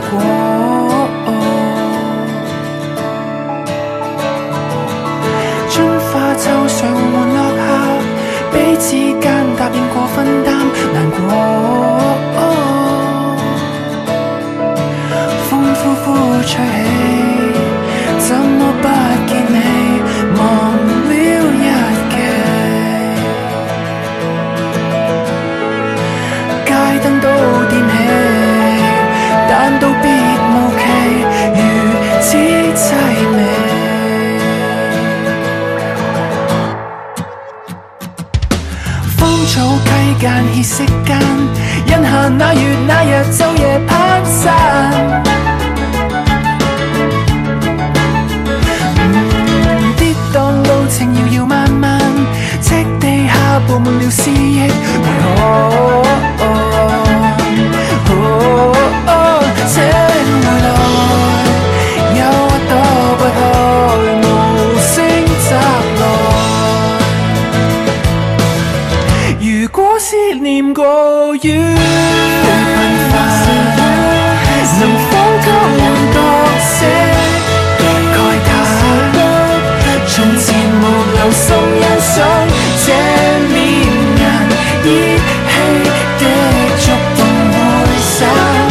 過。春花秋水緩緩落下，彼此間答應過分擔難過。風呼呼吹起，怎麼不見你？忘了日期，街燈都點起，但道別無期，如此凄美。芳草溪間歇息間，印下那月那日晝夜攀山。跌宕路程遙遙漫漫，赤地下布滿了詩意，為何？請回來，憂鬱躲不開，無聲襲來。如果思念過於頻繁，能否交換角色慨嘆？從前無留心欣賞這面人，依稀的觸動會散。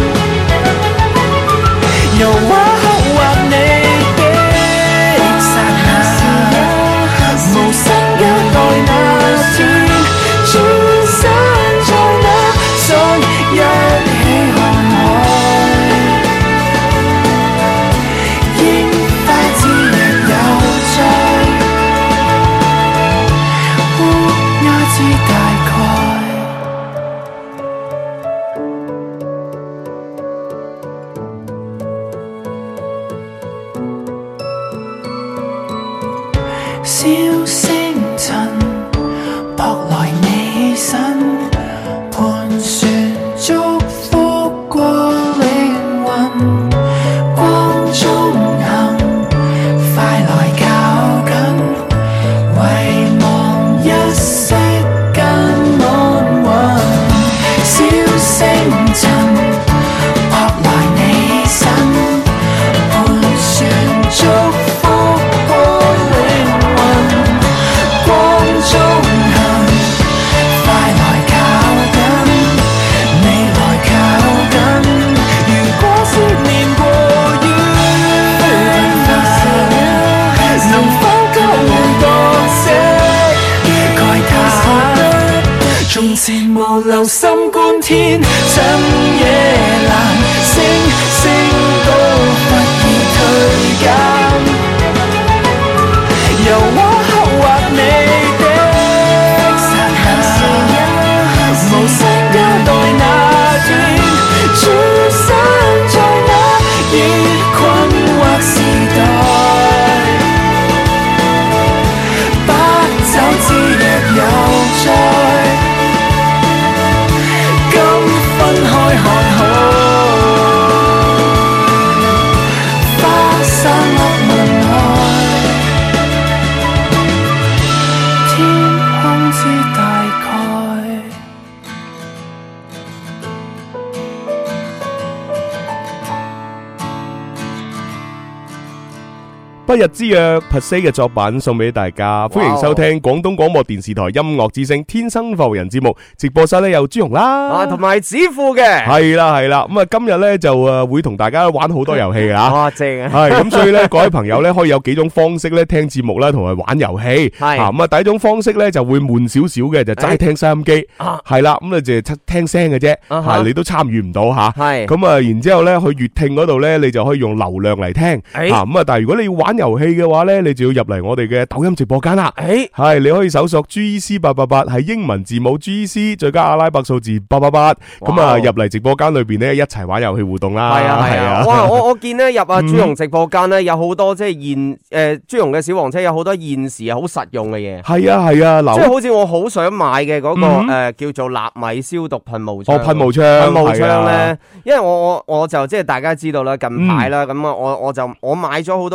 由畫刻畫你的剎那，無聲交代那天，轉身在那想一起看海，櫻花之日有在，烏鴉知大概。小星塵撲來你身，盤旋祝福過靈魂，光中行，快來靠近，遺忘一息間安穩。小星塵撲來你身，盤旋祝福過靈魂，光中行，快來靠近，你來靠近。如果思念過於頻繁，能否交換角色慨嘆？從前無留心觀天，趁夜闌，星星都忽已退減。由畫刻畫你的剎那，無聲交代那天，轉身在那熱困惑時代，不走之日有在，今分開看海，花散落門外。天空知大概。 不日之約 per se 嘅作品送俾大家，歡迎收聽廣東廣播電視台音樂之聲天生浮人節目。直播室咧有朱紅啦， 同埋子富嘅， 係啦，咁啊今日咧就會同大家玩好多遊戲啊！ 哇，正啊！ 係咁，所以咧各位朋友咧可以有幾種方式咧聽節目啦，同埋玩遊戲。 係咁啊，第一種方式咧就會悶少少嘅，就齋聽收音機。係啦，咁啊就聽聲嘅啫，你都參與唔到吓。係咁啊，然之後咧去粵聽嗰度咧，你就可以用流量嚟聽。咁啊，但係如果你要玩遊戲嘅話咧，你就要入嚟我哋嘅抖音直播間啦。係你可以搜索 GEC888，係英文字母 GEC 再加阿拉伯數字888，咁啊入嚟直播間裏邊咧一齊玩遊戲互動啦。 係啊！哇，我見咧入阿朱紅直播間咧有好多即係朱紅嘅小黃車有好多現時好實用嘅嘢。 係啊， 即係好似我好想買嘅嗰個叫做納米消毒噴霧槍。 噴霧槍咧， 因為我就即係大家知道啦，近排啦咁啊，我買咗好多嗰啲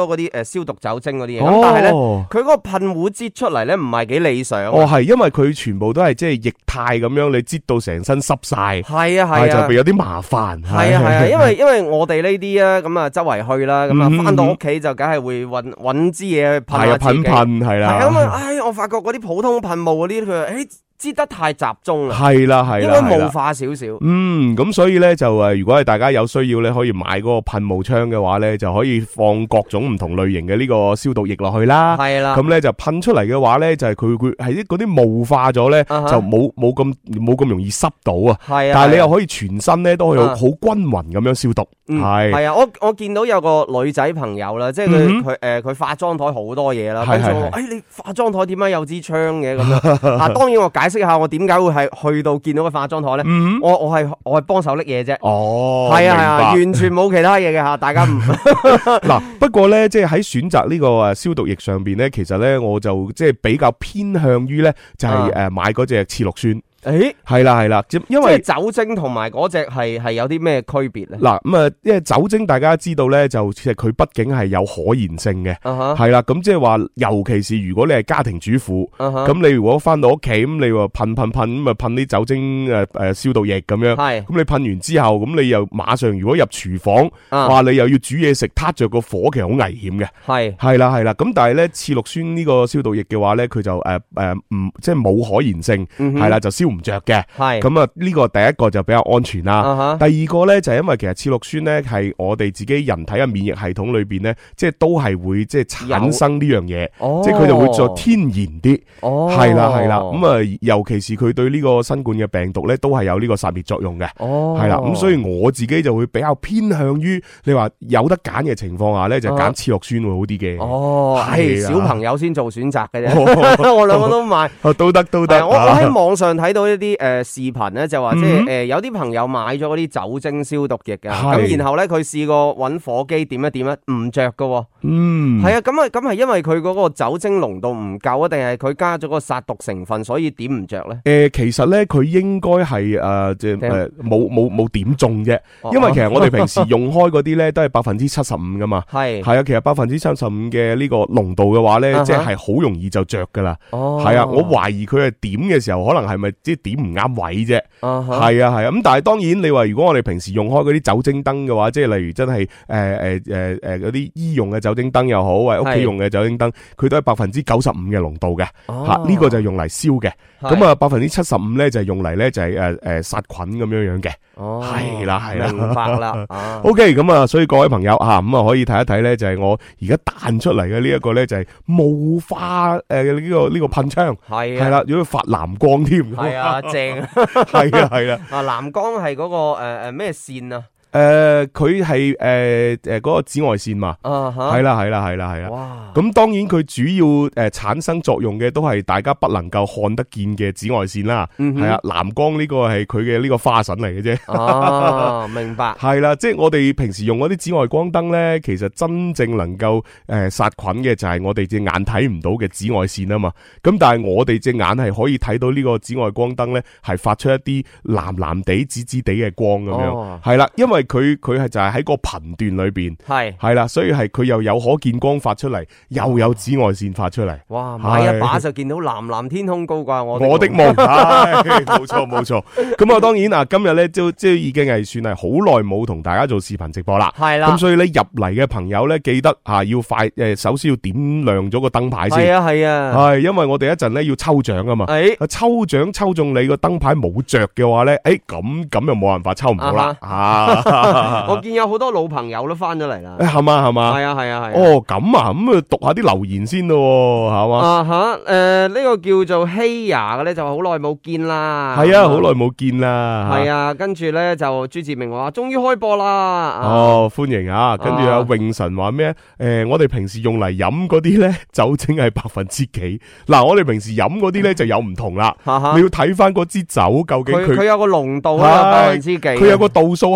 消毒酒精嗰啲嘢，咁但係咧佢嗰個噴壺擠出嚟咧唔係幾理想。 係因為佢全部都係即係液態咁樣，你擠到成身濕晒。 係啊， 就會有啲麻煩。 係啊，因為我哋呢啲啊咁啊周圍去啦，咁啊翻到屋企就梗係會揾支嘢去噴下自己。 噴係啦。 係咁啊，我發覺嗰啲普通噴霧嗰啲，佢話擠得太集中啦， 係啦， 應該霧化少少。 咁所以咧就如果係大家有需要咧，可以買嗰個噴霧槍嘅話咧，就可以放各種唔同類型嘅呢個消毒液落去啦。 係啦， 咁咧就噴出嚟嘅話咧，就係佢係嗰啲霧化咗咧，就冇咁容易濕到啊。係啊，但係你又可以全身咧都可以好均勻咁樣消毒。 係啊，我見到有個女仔朋友啦，即係佢化妝台好多嘢啦，跟住我你化妝台點解有支槍嘅咁樣？啊，當然我解釋下我點解會係去到見到個化妝台咧，我係幫手拎嘢啫。係啊，完全冇其他嘢嘅吓，大家唔嗱。不過咧，即係喺選擇呢個消毒液上邊咧，其實咧我就即係比較偏向於咧，就係買嗰隻次氯酸。係啦，因為酒精同埋嗰隻係有啲咩區別咧？ 嗱咁啊，因為酒精大家知道咧，就其實佢畢竟係有可燃性嘅，係啦。咁即係話，尤其是如果你係家庭主婦，咁你如果翻到屋企咁，你話噴咁啊噴啲酒精消毒液咁樣，咁你噴完之後，咁你又馬上如果入廚房，話你又要煮嘢食，撻着個火，其實好危險嘅。係啦。咁但係咧，次氯酸呢個消毒液嘅話咧，佢就唔即係冇可燃性，係啦，就燒唔着嘅。咁啊，呢個第一個就比較安全啦。第二個咧就係因為其實次氯酸咧係我哋自己人體嘅免疫系統裏邊咧，即係都係會即係產生呢樣嘢，即係佢就會再天然啲。係啦。咁啊，尤其是佢對呢個新冠嘅病毒咧，都係有呢個殺滅作用嘅。係啦。咁所以我自己就會比較偏向於你話有得揀嘅情況下咧，就揀次氯酸會好啲嘅。 係小朋友先做選擇嘅啫。我兩個都買。 都得。 我喺網上睇到一啲視頻咧，就話即係有啲朋友買咗嗰啲酒精消毒液㗎，咁然後咧佢試過揾火機點一點咧，唔着㗎。係啊，咁係因為佢嗰個酒精濃度唔夠啊，定係佢加咗個殺毒成分，所以點唔着咧？其實咧佢應該係即係冇點中啫，因為其實我哋平時用開嗰啲咧都係75%噶嘛。係啊，其實75%嘅呢個濃度嘅話咧，即係好容易就着噶啦。係啊，我懷疑佢係點嘅時候，可能係咪即係點唔啱位啫？係啊，咁但係當然你話如果我哋平時用開嗰啲酒精燈嘅話，即係例如真係嗰啲醫用嘅酒精燈又好，或者屋企用嘅酒精燈，佢都係95%嘅濃度嘅。呢個就係用嚟燒嘅。咁啊75%咧就係用嚟咧就係殺菌咁樣嘅。係啦，明白啦。OK， 咁啊，所以各位朋友咁啊可以睇一睇咧，就係我而家彈出嚟嘅呢一個咧就係霧化呢個噴槍。係啦，如果發藍光添。係啊，正。係啦。藍光係嗰個咩線啊？佢係嗰個紫外線嘛，係啦。哇！咁當然佢主要產生作用嘅都係大家不能夠看得見嘅紫外線啦。係啊，藍光呢個係佢嘅呢個花神嚟嘅啫。哦，明白。係啦，即係我哋平時用嗰啲紫外光燈咧，其實真正能夠殺菌嘅就係我哋隻眼睇唔到嘅紫外線啊嘛。咁但係我哋隻眼係可以睇到呢個紫外光燈咧，係發出一啲藍藍地、紫紫地嘅光咁樣。係啦，因為佢係就係喺個頻段裏邊，係啦，所以係佢又有可見光發出嚟，又有紫外線發出嚟。哇！買一把就見到藍藍天空高掛我的夢，冇錯。咁啊，當然啊，今日咧即係已經係算係好耐冇同大家做視頻直播啦。係啦，咁所以咧入嚟嘅朋友咧，記得要快首先要點亮咗個燈牌先。係啊，係因為我哋一陣咧要抽獎啊嘛。抽獎抽中你個燈牌冇着嘅話咧，咁又冇辦法抽唔到啦。我見有好多老朋友都翻咗嚟啦，係嘛？係啊。哦，咁啊，咁啊讀下啲留言先咯，係嘛？呢個叫做希雅嘅咧，就好耐冇見啦。係啊，好耐冇見啦。係啊，跟住咧就朱志明話終於開播啦。哦，歡迎啊！跟住阿永神話咩？我哋平時用嚟飲嗰啲咧酒精係%幾？嗱，我哋平時飲嗰啲咧就有唔同啦。你要睇翻嗰支酒究竟佢有個濃度啊，%幾？佢有個度數喺度噶嘛？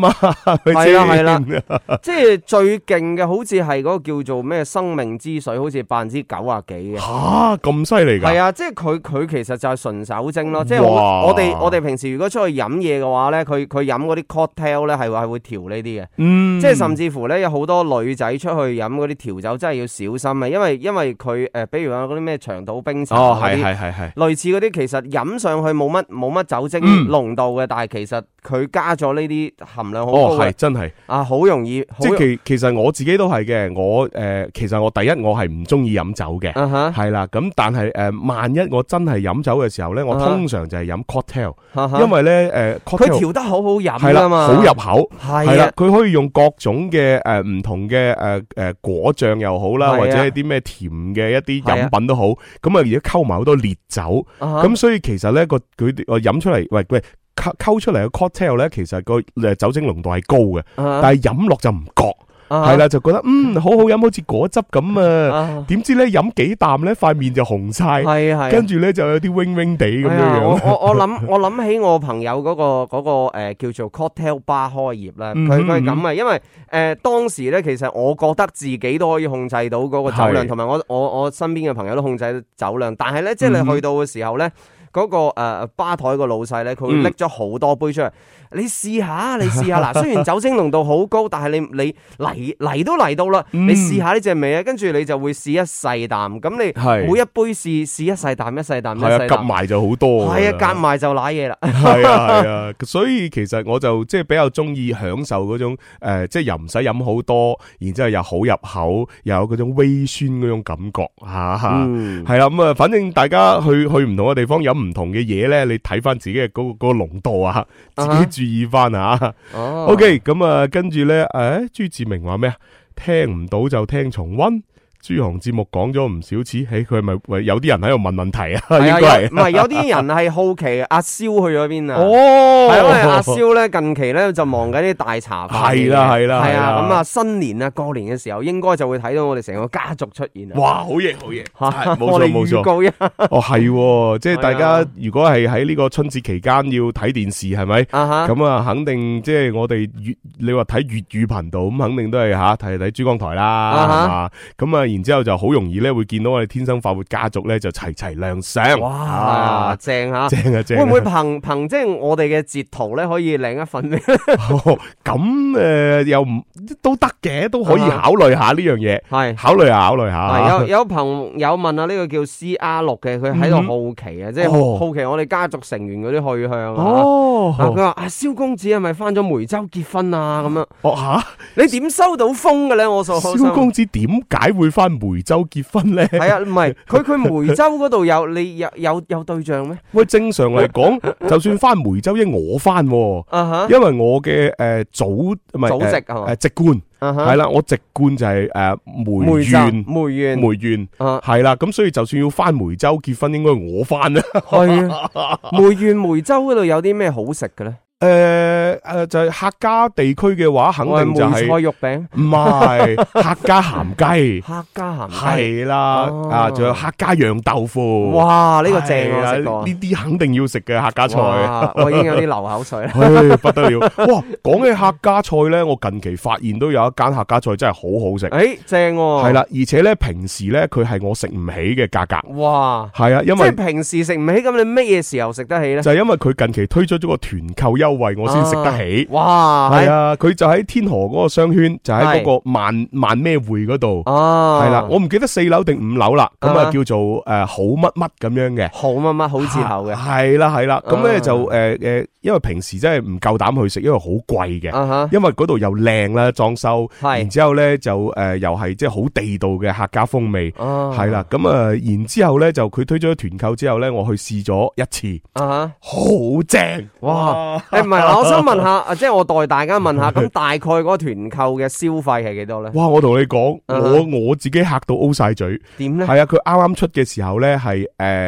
嘛， 係啦，即係最勁嘅，好似係嗰個叫做咩生命之水，好似90%幾嘅。 吓，咁犀利㗎？係啊，即係佢其實就係純酒精咯。即係我哋平時如果出去飲嘢嘅話咧，佢飲嗰啲 cocktail 咧係會調呢啲嘅。即係甚至乎咧有好多女仔出去飲嗰啲調酒真係要小心啊，因為佢比如話嗰啲咩長島冰茶嗰啲，係類似嗰啲，其實飲上去冇乜酒精濃度嘅，但係其實佢加咗呢啲含量好高嘅。係真係啊，好容易。 即係其實我自己都係嘅，我其實我第一我係唔中意飲酒嘅，係啦。咁但係萬一我真係飲酒嘅時候咧，我通常就係飲 cocktail，因為咧佢調得好飲㗎嘛， 好入口係啦，佢可以用各種嘅唔同嘅果醬又好啦，或者係啲咩甜嘅一啲飲品都好，咁啊而家溝埋好多烈酒，咁所以其實咧佢飲出嚟，喂溝出嚟嘅 cocktail 咧，其實個酒精濃度係高嘅，但係飲落就唔覺。係啦，就覺得好好飲，好似果汁咁啊！點知咧飲幾啖咧，塊面就紅晒，跟住咧就有啲 wing wing 地咁樣樣。 我諗起我朋友嗰個叫做 cocktail bar 開業咧，佢係咁啊，因為當時咧其實我覺得自己都可以控制到嗰個酒量，同埋我身邊嘅朋友都控制到酒量，但係咧即係你去到嘅時候咧。嗰個吧台個老細咧，佢會拎咗好多杯出嚟，你試下嗱。雖然酒精濃度好高，但係你嚟都嚟到啦，你試下呢隻味啊，跟住你就會試一細啖。咁你每一杯試一細啖，係啊， 夾埋就好多。 係啊，夾埋就瀨嘢啦。 係啊，所以其實我就即係比較中意享受嗰種即係又唔使飲好多，然之後又好入口，又有嗰種微酸嗰種感覺嚇。係啦，咁啊，反正大家去唔同嘅地方飲唔同嘅嘢咧，你睇翻自己嘅嗰個濃度啊，自己注意翻啊。OK， 咁啊，跟住咧，朱志明話咩啊？聽唔到就聽重溫。朱紅節目講咗唔少次，佢係咪有啲人喺度問問題啊？應該係唔係有啲人係好奇阿蕭去咗邊啊？係因為阿蕭咧近期咧就忙緊啲大茶飯。係啦，咁啊新年啊過年嘅時候應該就會睇到我哋成個家族出現啊！ 哇，好嘢，冇錯冇錯。係，即係大家如果係喺呢個春節期間要睇電視係咪？咁啊肯定即係我哋你話睇粵語頻道咁，肯定都係睇珠江台啦，係嘛？咁啊。然之後就好容易咧，會見到我哋天生快活家族咧就齊亮相。 哇，正啊！會唔會憑即係我哋嘅截圖咧，可以領一份咩？ 咁又唔都得嘅，都可以考慮下呢樣嘢。係考慮下。 有朋友問啊，呢個叫 CR6嘅，佢喺度好奇啊，即係好奇我哋家族成員嗰啲去向啊。佢話阿蕭公子係咪翻咗梅州結婚啊？咁樣。你點收到風嘅咧？ 蕭公子點解會翻梅州結婚咧？ 係啊，唔係佢梅州嗰度有對象咩？ 喂，正常嚟講，就算翻梅州，因我翻，因為我嘅祖籍籍貫係啦，我籍貫就係梅縣係啦，咁所以就算要翻梅州結婚，應該我翻啦。 係啊，梅州嗰度有啲咩好食嘅咧？ 就係客家地區嘅話，肯定就係梅菜肉餅， 唔係客家鹹雞， 客家鹹雞係啦，仲有客家釀豆腐。 哇，呢個正啊！ 呢啲肯定要食嘅客家菜。 我已經有啲流口水啦。 不得了！哇，講起客家菜咧，我近期發現都有一間客家菜真係好好食。 正係啦，而且咧平時咧佢係我食唔起嘅價格。 哇， 係啊，因為即係平時食唔起，咁你乜嘢時候食得起咧？ 就係因為佢近期推出咗個團購優惠，我先食得起。 哇， 係啊，佢就喺天河嗰個商圈，就喺嗰個萬咩匯嗰度。係啦，我唔記得4樓定5樓啦。咁啊叫做好乜乜咁樣嘅， 好乜乜好字頭嘅。 係啦，咁咧就因為平時真係唔夠膽去食，因為好貴嘅。因為嗰度又靚啦，裝修，然之後咧就又係即係好地道嘅客家風味。係啦，咁然之後咧就佢推咗團購之後咧，我去試咗一次，好正。哇！ 唔係嗱，我想問下，即係我代大家問下，咁大概嗰個團購嘅消費係幾多咧？ 哇！我同你講，我自己嚇到 O 晒嘴。 點咧？ 係啊，佢啱啱出嘅時候咧係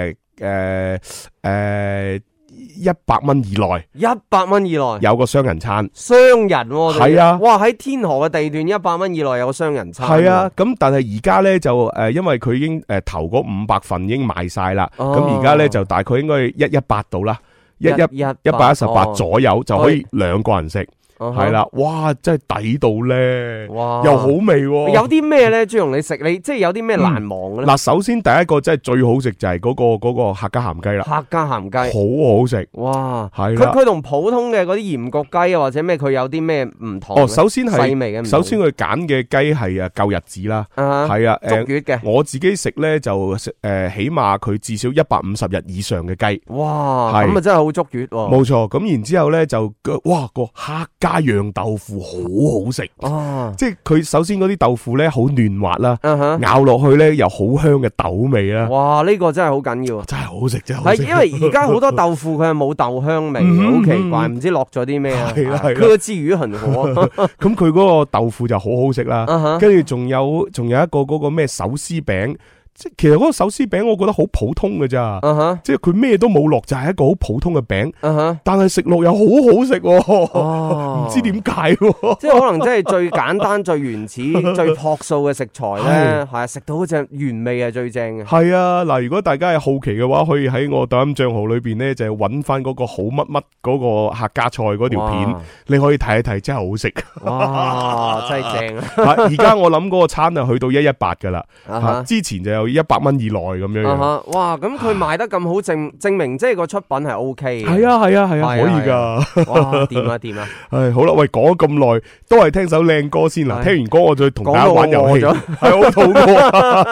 100蚊以內 ，100蚊以內有個雙人餐， 雙人係啊！ 哇，喺天河嘅地段100蚊以內有個雙人餐， 係啊！咁但係而家咧就因為佢已經頭嗰500份已經賣晒啦，咁而家咧就大概應該118到啦，118左右就可以2個人食。 係啦，哇，真係抵到咧，哇，又好味。 有啲咩咧？朱紅你食你即係有啲咩難忘嘅咧？ 嗱，首先第一個真係最好食就係嗰個客家鹹雞啦， 客家鹹雞好好食， 哇， 係佢同普通嘅嗰啲鹽焗雞啊或者咩佢有啲咩唔同？ 哦，首先係細微嘅， 首先佢揀嘅雞係舊日子啦，係啊， 足月嘅。 我自己食咧就起碼佢至少150日以上嘅雞， 哇，咁啊真係好足月喎。 冇錯，咁然之後咧就哇個客家釀豆腐好好食，即係佢首先嗰啲豆腐咧好嫩滑啦，咬落去咧又好香嘅豆味啦。 哇，呢個真係好緊要， 真係好食，真係好食。 係因為而家好多豆腐佢係冇豆香味，好奇怪，唔知落咗啲咩啊？ 係啦， 佢之魚很火， 咁佢嗰個豆腐就好好食啦。跟住仲有一個嗰個咩手絲餅。即其實嗰個手絲餅我覺得好普通嘅咋，即係佢咩都冇落，就係一個好普通嘅餅，但係食落又好好食，唔知點解， 即係可能即係最簡單、最原始、最樸素嘅食材咧，係食到嗰隻原味係最正嘅。 係啊，嗱，如果大家係好奇嘅話，可以喺我抖音賬號裏邊咧，就係揾翻嗰個好乜乜嗰個客家菜嗰條片，你可以睇一睇，真係好食。 哇，真係正啊！ 而家我諗嗰個餐啊去到118噶啦，之前就有100蚊以內咁樣。 哇，咁佢賣得咁好，證明即係個出品係 O K 嘅。 係啊，可以噶。 哇，掂啊掂啊！ 唉，好啦，喂，講咗咁耐，都係聽首靚歌先啦。聽完歌我再同大家玩遊戲。係好肚餓。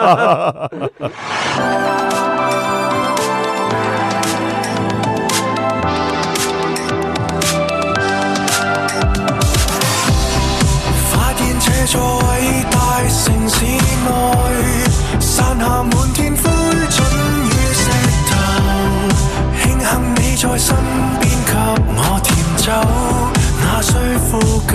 發現這座偉大城市內，散下滿天灰燼與石頭，慶幸你在身邊給我甜酒，那需呼救。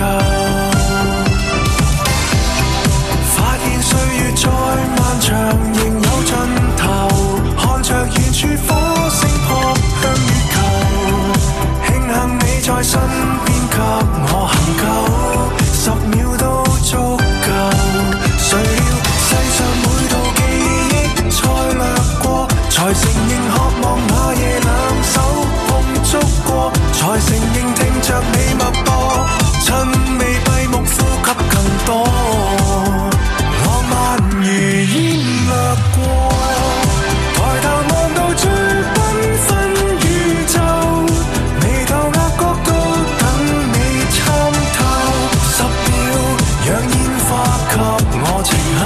發現歲月再漫長仍有盡頭，看着遠處火星撲向月球，慶幸你在身邊給我恆久，10秒都足夠。誰料世上每道記憶再掠過，才承認渴望那夜兩手碰觸過，才承認聽着你脈搏，趁未閉目呼吸更多，浪漫如煙掠過，抬頭望到最繽紛宇宙，眉頭額角都等你參透，10秒讓煙花給我靜候。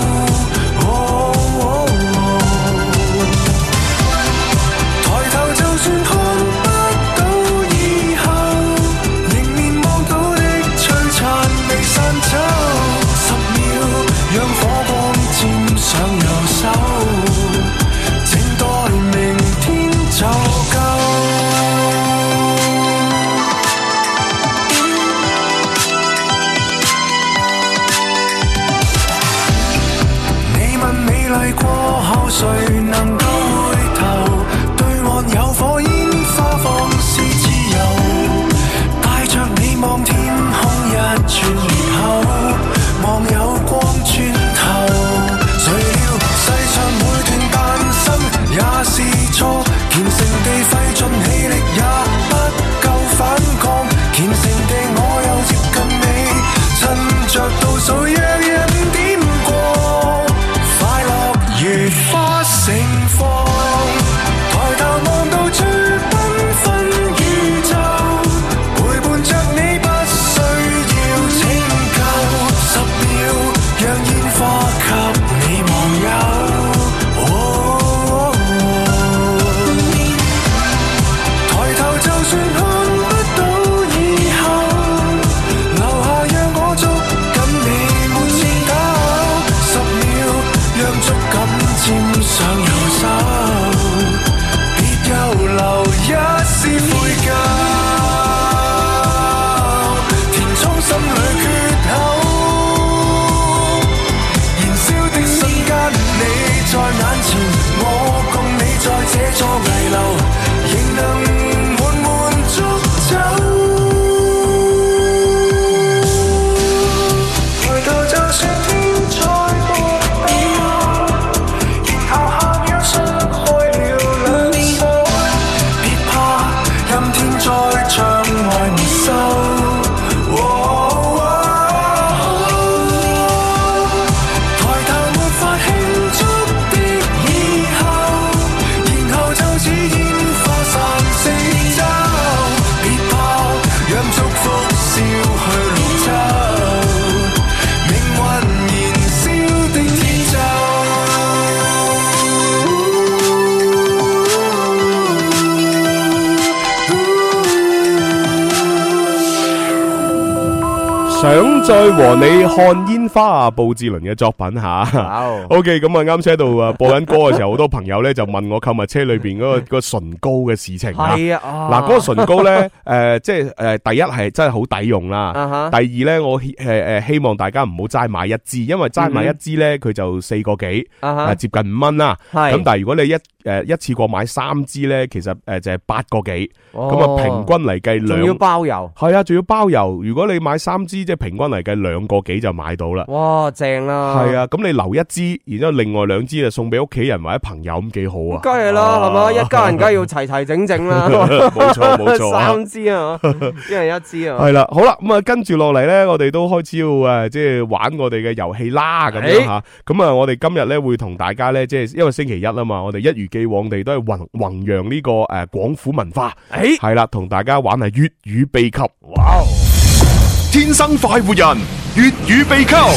抬頭就算看不到以後，迎面望到的璀璨未散走，10秒讓火光沾上右手，靜待明天就夠。你問美麗過後誰能夠回頭？對岸有火煙花放肆自由，帶着你望天空一轉裂口，望有光穿透。誰料世上每段誕生也是錯，虔誠地費盡氣力也不夠反抗，虔誠地我又接近你，趁着倒數讓人點過，快樂如花盛放，抬頭望到最繽紛宇宙，陪伴着你不需要拯救，10秒讓煙花給你忘憂。抬頭就算看不到以後，留下讓我捉緊你沒折抖，10秒讓觸感沾上右手，別又留一絲悔疚，填充心裏缺口，燃燒的瞬間你在眼前，我共你在這座危樓，仍能緩緩捉走。抬頭就算天再薄變，然後下秒傷害了兩手，別怕，任天在窗外沒收， 想再和你看煙花啊，布志綸嘅作品吓。OK， 咁啊啱先喺度啊播緊歌嘅時候，好多朋友咧就問我購物車裏邊嗰個唇膏嘅事情啊。係啊，嗱，嗰個唇膏咧，即係第一係真係好抵用啦。第二咧，我希望大家唔好齋買一支，因為齋買一支咧，佢就4個幾，接近5蚊啦。咁但係如果你一次過買3支咧，其實就係8個幾，咁啊平均嚟計仲要包郵。係啊，仲要包郵。如果你買3支，即係平均嚟計2個幾就買到啦。哇，正啦！係啊，咁你留一支，然之後另外2支就送俾屋企人或者朋友，咁幾好啊！梗係啦，係嘛，一家人梗係要齊齊整整啦。冇錯冇錯，3支啊，一人1支啊。係啦，好啦，咁啊跟住落嚟咧，我哋都開始要即係玩我哋嘅遊戲啦，咁樣吓。咁啊，我哋今日咧會同大家咧，即係因為星期一啊嘛，我哋一如既往地都係弘揚呢個廣府文化。係啦，同大家玩係粵語秘笈。哇！天生快活人，粵語秘笈。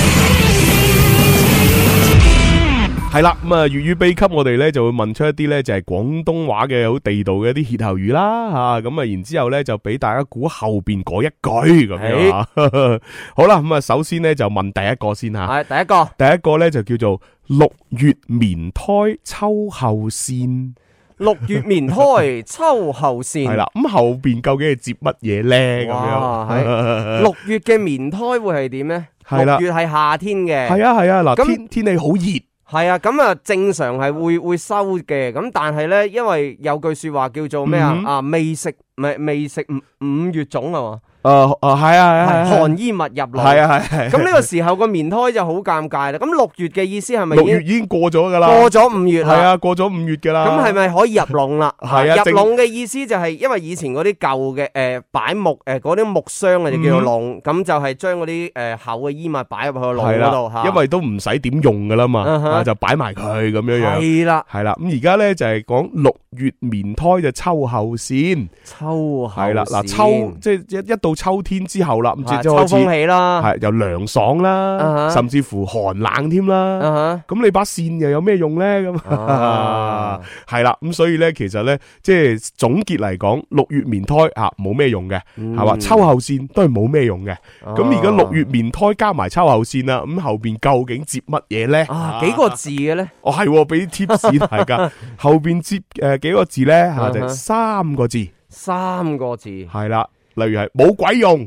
係啦，咁啊粵語秘笈我哋咧就會問出一啲咧就係廣東話嘅好地道嘅一啲歇後語啦吓，咁啊然之後咧就俾大家估後邊嗰一句咁樣啊。好啦，咁啊首先咧就問第一個先吓。係第一個咧就叫做6月棉胎秋後線。6月棉胎秋後線。係啦，咁後邊究竟係接乜嘢咧？咁樣6月嘅棉胎會係點咧？6月係夏天嘅。係啊，嗱，天氣好熱。係啊，咁啊正常係會收嘅，咁但係咧，因為有句說話叫做咩啊？未食5月粽啊嘛。係啊，寒衣物入嚟。係啊。咁呢個時候個棉胎就好尷尬啦。咁6月嘅意思係咪？6月已經過咗噶啦。過咗5月。係啊，過咗5月噶啦。咁係咪可以入籠啦？係啊。入籠嘅意思就係，因為以前嗰啲舊嘅擺木嗰啲木箱啊，就叫做籠。咁就係將嗰啲厚嘅衣物擺入去個籠嗰度吓。因為都唔使點用噶啦嘛，就擺埋佢咁樣樣。係啦。係啦。咁而家咧就係講6月棉胎就秋後線。秋後係啦，嗱秋即係一到秋天之後啦，咁即係秋風起啦，係又涼爽啦，甚至乎寒冷添啦。咁你把扇又有咩用咧？咁係啦，咁所以咧，其實咧，即係總結嚟講，6月棉胎冇咩用嘅，係嘛？秋後線都係冇咩用嘅。咁而家6月棉胎加埋秋後線啦，咁後邊究竟接乜嘢咧？幾個字嘅咧？哦，係俾啲 tips 大家，後邊接幾個字咧？吓就3個字。3個字係啦，例如係冇鬼用，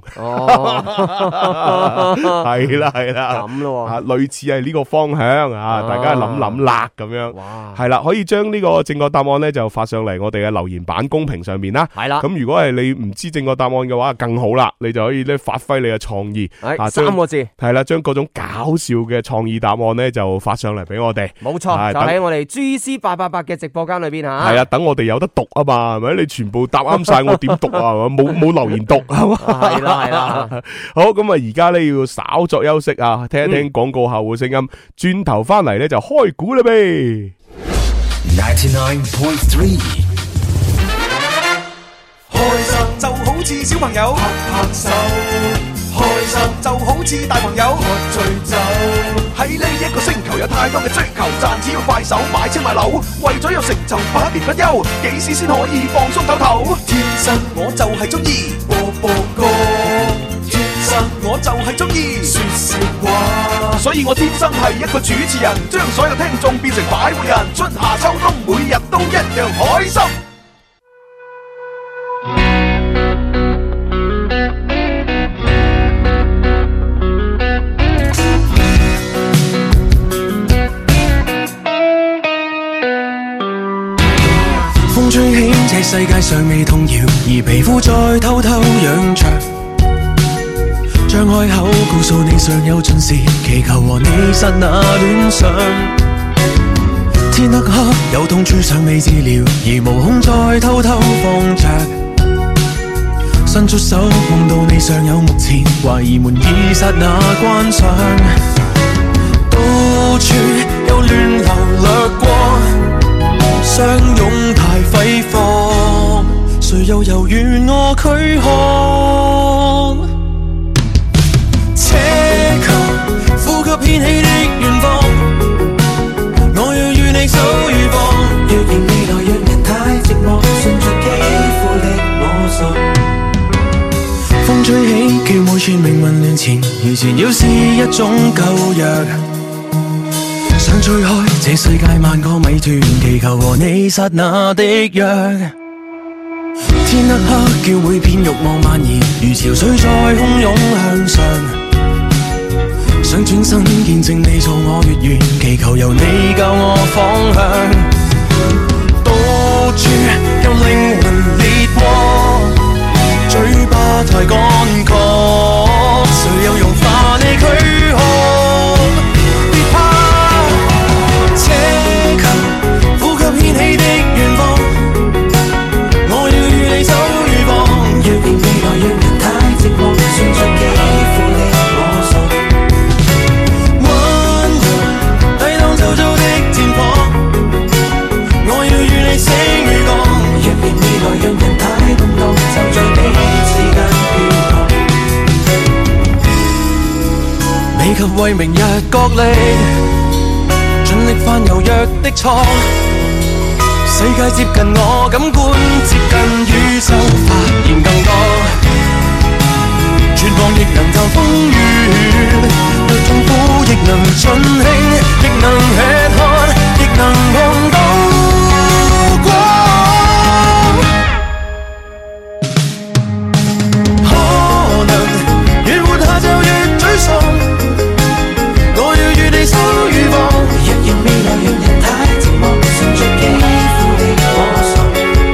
係啦咁咯，類似係呢個方向啊，大家諗諗啦咁樣，係啦，可以將呢個正確答案咧就發上嚟我哋嘅留言板公屏上面啦，係啦，咁如果係你唔知正確答案嘅話，更好啦，你就可以咧發揮你嘅創意，3個字係啦，將各種搞笑嘅創意答案咧就發上嚟俾我哋，冇錯，就喺我哋 GC888嘅直播間裏邊吓，係啊，等我哋有得讀啊嘛，係咪？你全部答啱晒，我點讀啊？冇留言讀係嘛？係啦，好，咁啊，而家咧要稍作休息啊，聽一聽廣告後嘅聲音，轉頭翻嚟咧就開估啦唄。99.3開心就好似小朋友拍拍手，開心就好似大朋友喝醉酒。喺呢一個星球有太多嘅追求，賺錢要快手買車買樓，為咗有成就不眠不休，幾時先可以放鬆唞唞？天生我就係中意播播歌，天生我就係中意說笑話，所以我天生係一個主持人，將所有聽眾變成快活人，春夏秋冬每日都一樣開心。風吹起，這世界上未動搖，而皮膚再偷偷癢着。張開口，告訴你尚有盡時，祈求和你剎那戀上。天黑黑，有痛處尚未治療，而無空再偷偷放着。伸出手，夢到你尚有目前，懷疑門已剎那關上。到處有亂流掠過，相擁太揮霍，誰又猶豫我軀殼？奢求呼吸掀起的遠方，我要與你守與放。若然未來讓人太寂寞，順着肌膚的摸索。風吹起，叫每串命運亂纏繞是一種舊藥，想吹開這世界萬個謎團，祈求和你剎那的約。天黑黑叫每片慾望蔓延，如潮水在洶湧向上，想轉身見證你做我月圓，祈求由你教我方向。到處有靈魂烈火，嘴巴太乾涸，誰又融化你軀殼？別怕，奢求呼吸掀起的願望，我要與你守與防。若然未來讓人太寂寞，算着幾乎令我傻。溫柔抵擋周遭的戰火，我要與你死與亡。若然未來讓人太動盪，就在彼此間飄蕩。未及為明日角力，盡力犯柔弱的錯。世界接近我，感官接近宇宙，發現更多。絕望亦能就風雨，若痛苦亦能盡興，亦能吃喝，亦能碰到光。可能越活下就越沮喪，我要與你守與防。若然未來讓人太寂寞，順着幾乎令我傻。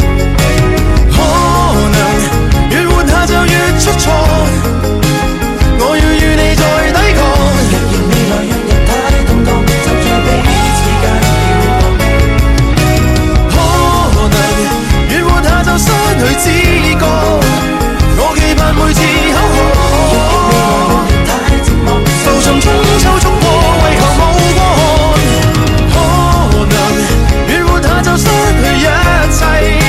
可能越活下就越出錯，我要與你再抵抗。若然未來讓人太動盪，就在彼此間飄蕩。可能越活下就失去知覺，我期盼每次口渴。若然未來讓人太寂寞，浮沉中抽衝破，為求無過寒。可能越活下就失去一切。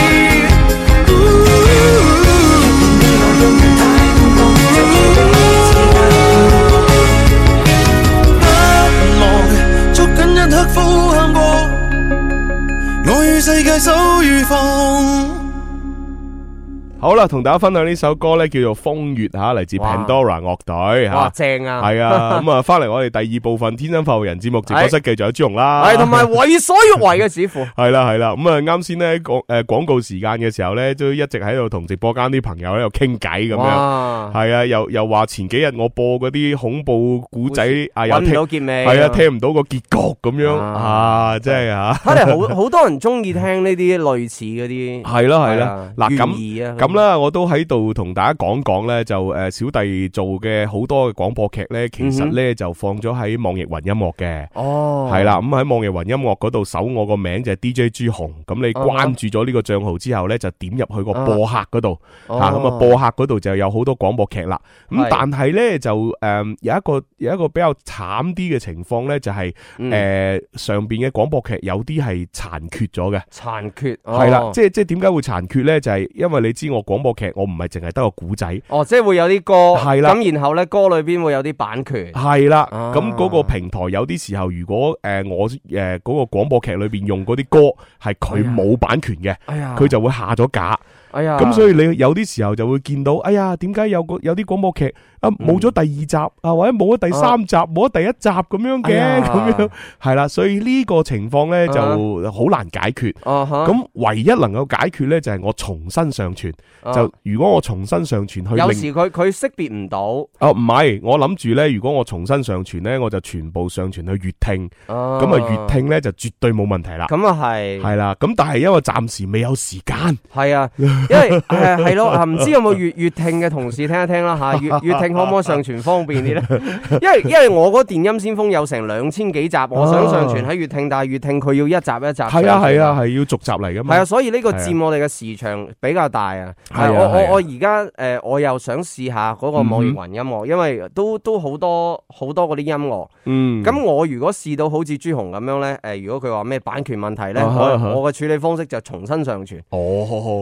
呼喊過，我與世界守與防。 好啦，同大家分享呢首歌咧，叫做《風月》吓，嚟自 Pandora 樂隊吓。 哇，正啊！ 係啊，咁啊，翻嚟我哋第二部分《天生發育人》節目直播室，繼續有朱紅啦， 係同埋為所欲為嘅師傅。 係啦，咁啊，啱先咧廣告時間嘅時候咧，都一直喺度同直播間啲朋友喺度傾偈咁樣。係啊，又話前幾日我播嗰啲恐怖古仔啊，又聽唔到結尾， 係啊，聽唔到個結局咁樣啊，真係啊！ 睇嚟好多人中意聽呢啲類似嗰啲。 係啦，嗱咁啦，我都喺度同大家講講咧，就小弟做嘅好多嘅廣播劇咧，其實咧就放咗喺網易雲音樂嘅。哦，係啦，咁喺網易雲音樂嗰度搜我個名就係 DJ 朱紅，咁你關注咗呢個賬號之後咧，就點入去個播客嗰度，咁啊播客嗰度就有好多廣播劇啦。咁但係咧就有一個比較慘啲嘅情況咧，就係上邊嘅廣播劇有啲係殘缺咗嘅。殘缺係啦，即係點解會殘缺咧？就係因為你知我廣播劇我唔係淨係得個古仔， 即係會有啲歌，係啦，咁然後咧歌裏邊會有啲版權， 係啦，咁嗰個平台有啲時候如果我嗰個廣播劇裏邊用嗰啲歌係佢冇版權嘅，佢就會下咗架。咁所以你有啲時候就會見到，點解有啲廣播劇冇咗第二集或者冇咗第三集，冇咗第一集咁樣嘅，咁樣係啦，所以呢個情況咧就好難解決。咁唯一能夠解決咧就係我重新上傳。就如果我重新上傳去， 有時佢識別唔到。 唔係，我諗住咧，如果我重新上傳咧，我就全部上傳去粵聽。咁粵聽咧就絕對冇問題啦。 咁係啦，咁但係因為暫時未有時間。係啊。 因為係咯，唔知有冇粵聽嘅同事聽一聽啦吓，粵聽可唔可以上傳方便啲咧？因為我嗰電音先鋒有成2000幾集，我想上傳喺粵聽，但係粵聽佢要一集一集。係啊，係要逐集嚟噶嘛。係啊，所以呢個佔我哋嘅時長比較大啊。我而家我又想試下嗰個網易雲音樂，因為都好多嗰啲音樂。咁我如果試到好似朱紅咁樣咧，如果佢話咩版權問題咧，我嘅處理方式就重新上傳。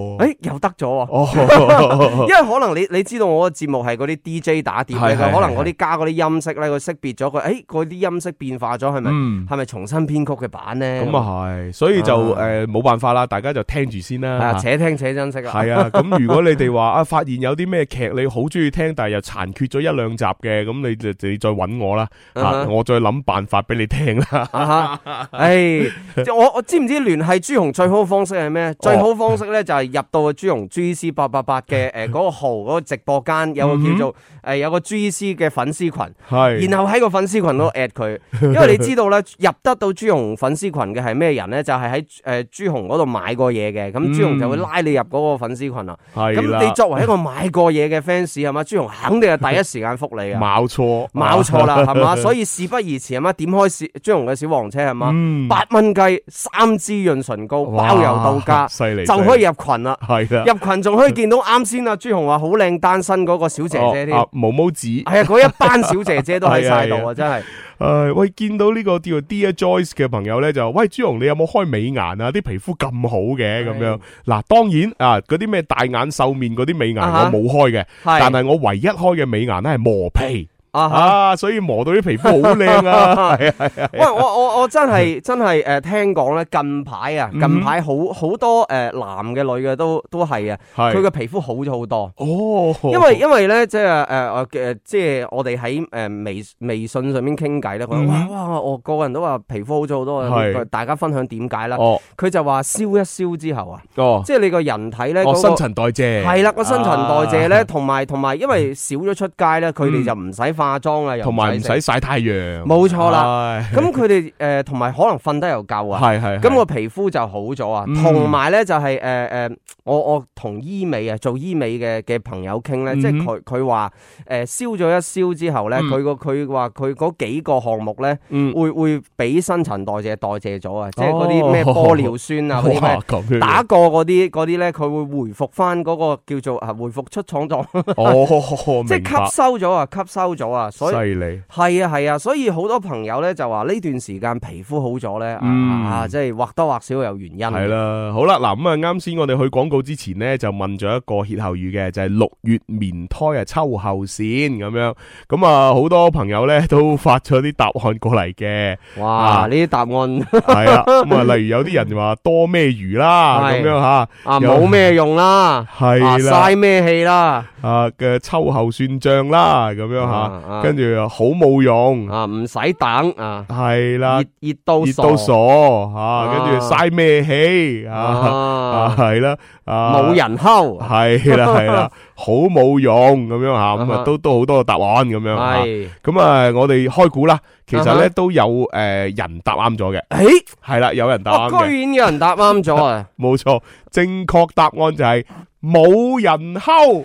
又得咗喎。因為可能你知道我個節目係嗰啲 DJ 打碟咧，可能嗰啲加嗰啲音色咧，佢識別咗佢，嗰啲音色變化咗，係咪重新編曲嘅版咧？ 咁啊係，所以就冇辦法啦，大家就聽住先啦。 且聽且珍惜啦。 係啊，咁如果你哋話發現有啲咩劇你好中意聽，但係又殘缺咗一兩集嘅，咁你再揾我啦，我再諗辦法俾你聽啦。 我知唔知聯繫朱紅最好方式係咩？最好方式咧就係入到朱紅 GC888嘅嗰個號嗰個直播間，有個叫做有個 GC 嘅粉絲群，然後喺個粉絲群度 at 佢，因為你知道咧入得到朱紅粉絲群嘅係咩人咧？就係喺朱紅嗰度買過嘢嘅，咁朱紅就會拉你入嗰個粉絲群啦。咁你作為一個買過嘢嘅 fans 係嘛，朱紅肯定係第一時間覆你嘅。冇錯啦，係嘛？所以事不宜遲係嘛，點開朱紅嘅小黃車係嘛，8蚊雞3支潤唇膏，包郵到家， 犀利就可以入群啦。 係啦， 入群仲可以見到啱先啊，朱紅話好靚單身嗰個小姐姐添， 毛毛子係啊，嗰一班小姐姐都喺晒度啊，真係。 喂，見到呢個叫做 Dear Joyce 嘅朋友咧，就喂朱紅，你有冇開美顏啊？啲皮膚咁好嘅咁樣。嗱，當然啊，嗰啲咩大眼瘦面嗰啲美顏我冇開嘅，但係我唯一開嘅美顏咧係磨皮。所以磨到啲皮膚好靚啊！ 喂，我真係聽講咧，近排好多男嘅女嘅都係啊，佢嘅皮膚好咗好多。因為咧即係我哋喺微信上面傾偈咧，佢話哇，我個人都話皮膚好咗好多，大家分享點解啦？佢就話燒一燒之後啊，即係你個人體咧新陳代謝係啦，個新陳代謝咧，同埋因為少咗出街咧，佢哋就唔使化妝啊， 同埋唔使曬太陽， 冇錯啦。咁佢哋同埋可能瞓得又夠啊，咁個皮膚就好咗啊。同埋咧就係我同做醫美嘅朋友傾咧，即係佢話燒咗一燒之後咧，佢話佢嗰幾個項目咧會俾新陳代謝咗啊，即係嗰啲咩玻尿酸啊，嗰啲咩打過嗰啲咧，佢會回復翻嗰個叫做回復出廠狀，即係吸收咗啊，所以犀利係啊，所以好多朋友咧就話呢段時間皮膚好咗咧，即係或多或少有原因。 係啦，好啦，嗱咁啊，啱先我哋去廣告之前咧就問咗一個歇後語嘅，就係6月棉胎啊秋後算咁樣，咁啊好多朋友咧都發咗啲答案過嚟嘅。 哇，呢啲答案係啊，咁啊例如有啲人話多咩魚啦咁樣吓， 冇咩用啦， 係啦， 嘥咩氣啦， 嘅秋後算賬啦咁樣吓，跟住好冇用唔使等啊， 係啦， 熱到傻吓，跟住嘥咩氣係啦， 冇人溝係啦，好冇用咁樣吓，咁啊都好多個答案咁樣吓，咁啊我哋開估啦，其實咧都有人答啱咗嘅，係啦，有人答啱嘅， 居然有人答啱咗啊， 冇錯，正確答案就係冇人溝，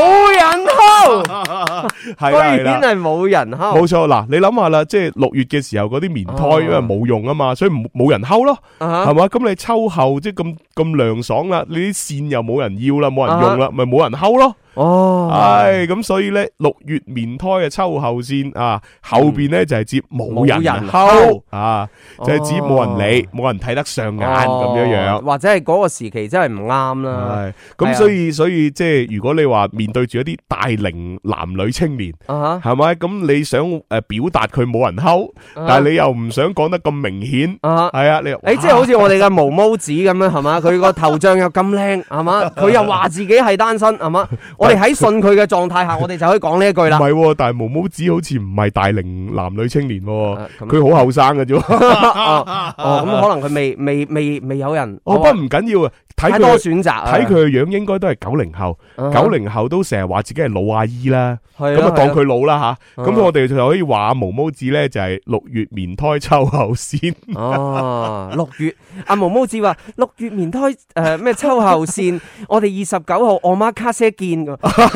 係啦， 居然係冇人溝， 冇錯嗱，你諗下啦，即係6月嘅時候嗰啲棉胎因為冇用啊嘛，所以冇人溝咯，係嘛？咁你秋後即係咁涼爽啦，你啲線又冇人要啦，冇人用啦，咪冇人溝咯。咁所以咧6月棉胎嘅秋後線啊，後邊咧就係指冇人溝啊，就係指冇人理，冇人睇得上眼咁樣， 或者係嗰個時期真係唔啱啦。 咁所以即係如果你話面對住一啲大齡男女青年，係咪？咁你想表達佢冇人溝，但係你又唔想講得咁明顯，係啊？你即係好似我哋嘅毛毛子咁樣，係嘛？佢個頭像又咁靚，係嘛？佢又話自己係單身，係嘛？我哋喺信佢嘅狀態下，我哋就可以講呢一句啦。 唔係，但係毛毛子好似唔係大齡男女青年，佢好後生嘅啫。 咁可能佢未有人。 不過唔緊要啊， 太多選擇， 睇佢嘅樣應該都係90後，90後都成日話自己係老阿姨啦，咁啊當佢老啦吓。咁我哋就可以話毛毛子咧就係6月棉胎秋後線。 6月阿毛毛子話6月棉胎咩秋後線，我哋29號我媽卡車見咁㗎。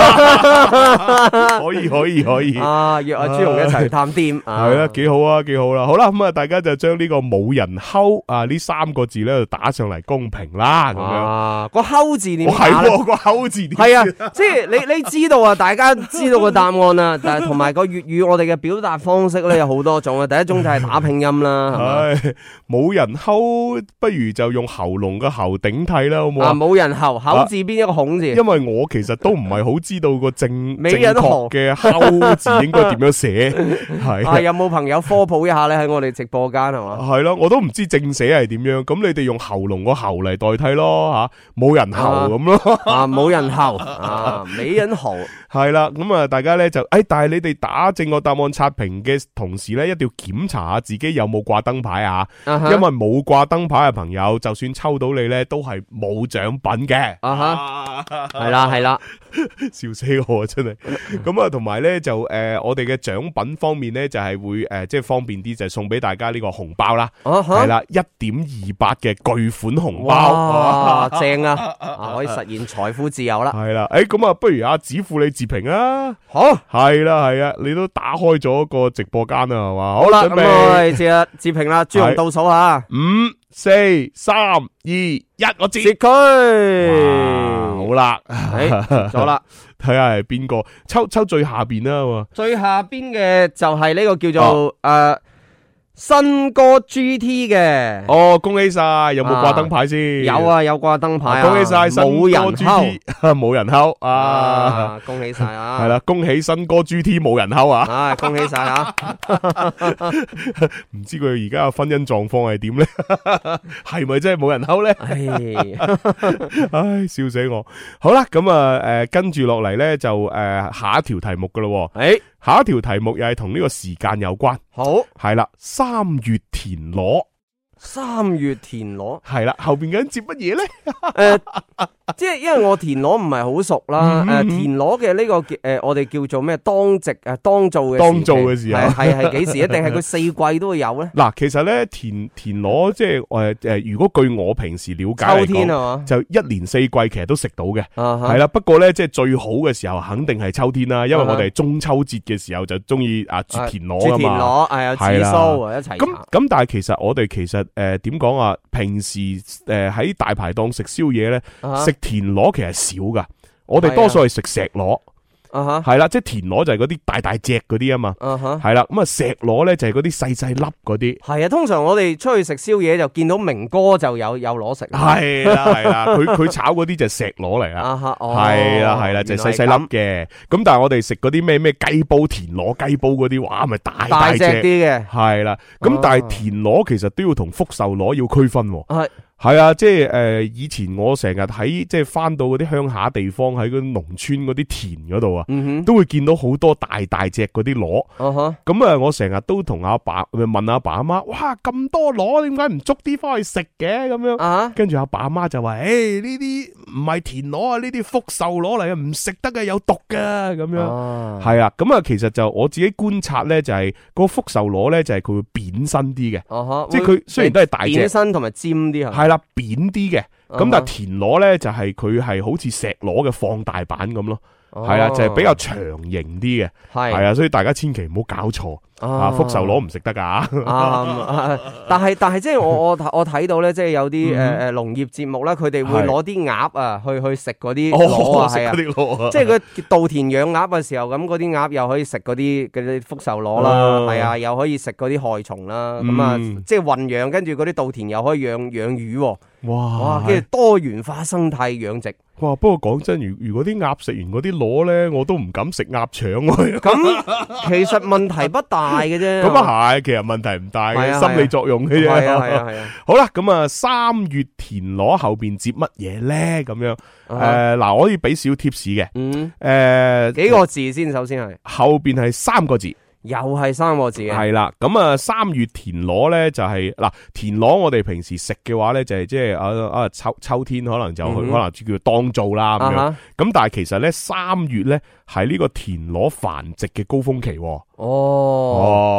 可以啊，約阿朱紅一齊去探店， 係啦，幾好啊，幾好啦。好啦，咁啊，大家就將呢個冇人睺啊呢3個字咧就打上嚟公屏啦，咁樣。 個睺字點打？ 係個睺字點？ 係啊，即係你知道啊，大家知道個答案啦，但係同埋個粵語我哋嘅表達方式咧有好多種啊。第一種就係打拼音啦，係冇人睺，不如就用喉嚨嘅喉頂替啦，好唔好啊？ 冇人睺，口字邊一個孔字。 因為我其實都唔係好知道個正人確嘅睺字應該點樣寫，係有冇朋友科普一下咧？喺我哋直播間係嘛？ 係咯，我都唔知正寫係點樣，咁你哋用喉嚨個喉嚟代替咯吓，冇人喉咁咯， 冇人喉冇人喉。 係啦，咁啊，大家咧就但係你哋打正確答案刷屏嘅同時咧，一定要檢查下自己有冇掛燈牌啊，因為冇掛燈牌嘅朋友，就算抽到你咧，都係冇獎品嘅。 係啦， 笑死我真係。咁啊，同埋咧就我哋嘅獎品方面咧，就係會即係方便啲，就係送俾大家呢個紅包啦。係啦，1.28嘅巨款紅包， 哇，正啊，可以實現財富自由啦。 係啦，咁啊，不如阿子富你自評啊。 好， 係啦，係啊，你都打開咗個直播間啦，係嘛？ 好啦，咁我哋自評啦，朱紅倒數下 ，5、4、3、2、1，我截區。 好啦， 咗啦， 睇下係邊個抽最下邊啦。 最下邊嘅就係呢個叫做新歌 GT 嘅。 哦，恭喜晒！有冇掛燈牌先？ 有啊，有掛燈牌。 恭喜晒新歌 GT，冇人睺啊！恭喜晒啊！ 係啦，恭喜新歌 GT 冇人睺啊！ 恭喜晒啊！ 唔知佢而家嘅婚姻狀況係點咧？係咪真係冇人睺咧？唉，笑死我！好啦，咁啊，跟住落嚟咧就下一條題目噶咯。下一條題目又係同呢個時間有關。 好， 係啦，3月田螺。 3月田螺係啦，後邊嗰人接乜嘢咧？ 即係因為我田螺唔係好熟啦。田螺嘅呢個我哋叫做咩？當值當造嘅時候係幾時？一定係佢4季都會有咧？ 嗱，其實咧田螺即係如果據我平時了解嚟講， 秋天係嘛， 就1年4季其實都食到嘅。係啦，不過咧即係最好嘅時候肯定係秋天啦，因為我哋中秋節嘅時候就中意啜田螺啊嘛。啜田螺係紫蘇一齊。 咁但係其實我哋點講啊？平時喺大排檔食宵夜咧，食田螺其實少噶，我哋多數係食石螺。係啦，即係田螺就係嗰啲大隻嗰啲啊嘛。係啦，咁啊石螺咧就係嗰啲細粒嗰啲。係啊，通常我哋出去食宵夜就見到明哥就有螺食。 係啦，佢炒嗰啲就係石螺嚟啦。係啦，就係細粒嘅。咁但係我哋食嗰啲咩雞煲田螺雞煲嗰啲，哇，咪大隻啲嘅。 係啦，咁但係田螺其實都要同福壽螺要區分。係啊，即係以前我成日喺即係翻到嗰啲鄉下地方，喺嗰啲農村嗰啲田嗰度啊，都會見到好多大隻嗰啲螺。咁啊，我成日都同阿爸問阿爸阿媽，哇，咁多螺，點解唔捉啲翻去食嘅？咁樣，跟住阿爸阿媽就話，誒，呢啲唔係田螺啊，呢啲福壽螺嚟嘅，唔食得嘅，有毒噶。咁樣，係啊，咁啊，其實就我自己觀察咧，就係個福壽螺咧，就係佢會扁身啲嘅，即係佢雖然都係大隻， 扁身同埋尖啲係啦，扁啲嘅，咁但係田螺咧就係佢係好似石螺嘅放大版咁咯，係啦，就係比較長型啲嘅，係啊，所以大家千祈唔好搞錯啊！福壽螺唔食得噶， 但係即係我睇到咧，即係有啲農業節目咧，佢哋會攞啲鴨啊去食嗰啲螺啊，係啊，即係佢稻田養鴨嘅時候，咁嗰啲鴨又可以食嗰啲福壽螺啦，係啊，又可以食嗰啲害蟲啦，咁啊，即係混養，跟住嗰啲稻田又可以養魚，哇，跟住多元化生態養殖。 哇！不過講真，如果啲鴨食完嗰啲螺咧，我都唔敢食鴨腸。 咁其實問題不大嘅啫。 咁啊係，其實問題唔大嘅，心理作用嘅啫。 係啊。 好啦，咁啊3月田螺後邊接乜嘢咧？咁樣嗱，我可以俾少 tips 嘅。 幾個字先，首先係後邊係3個字。 又係3個字嘅， 係啦，咁啊3月田螺咧就係嗱，田螺我哋平時食嘅話咧就係即係秋天可能就可能叫當造啦咁樣，咁但係其實咧3月咧係呢個田螺繁殖嘅高峰期。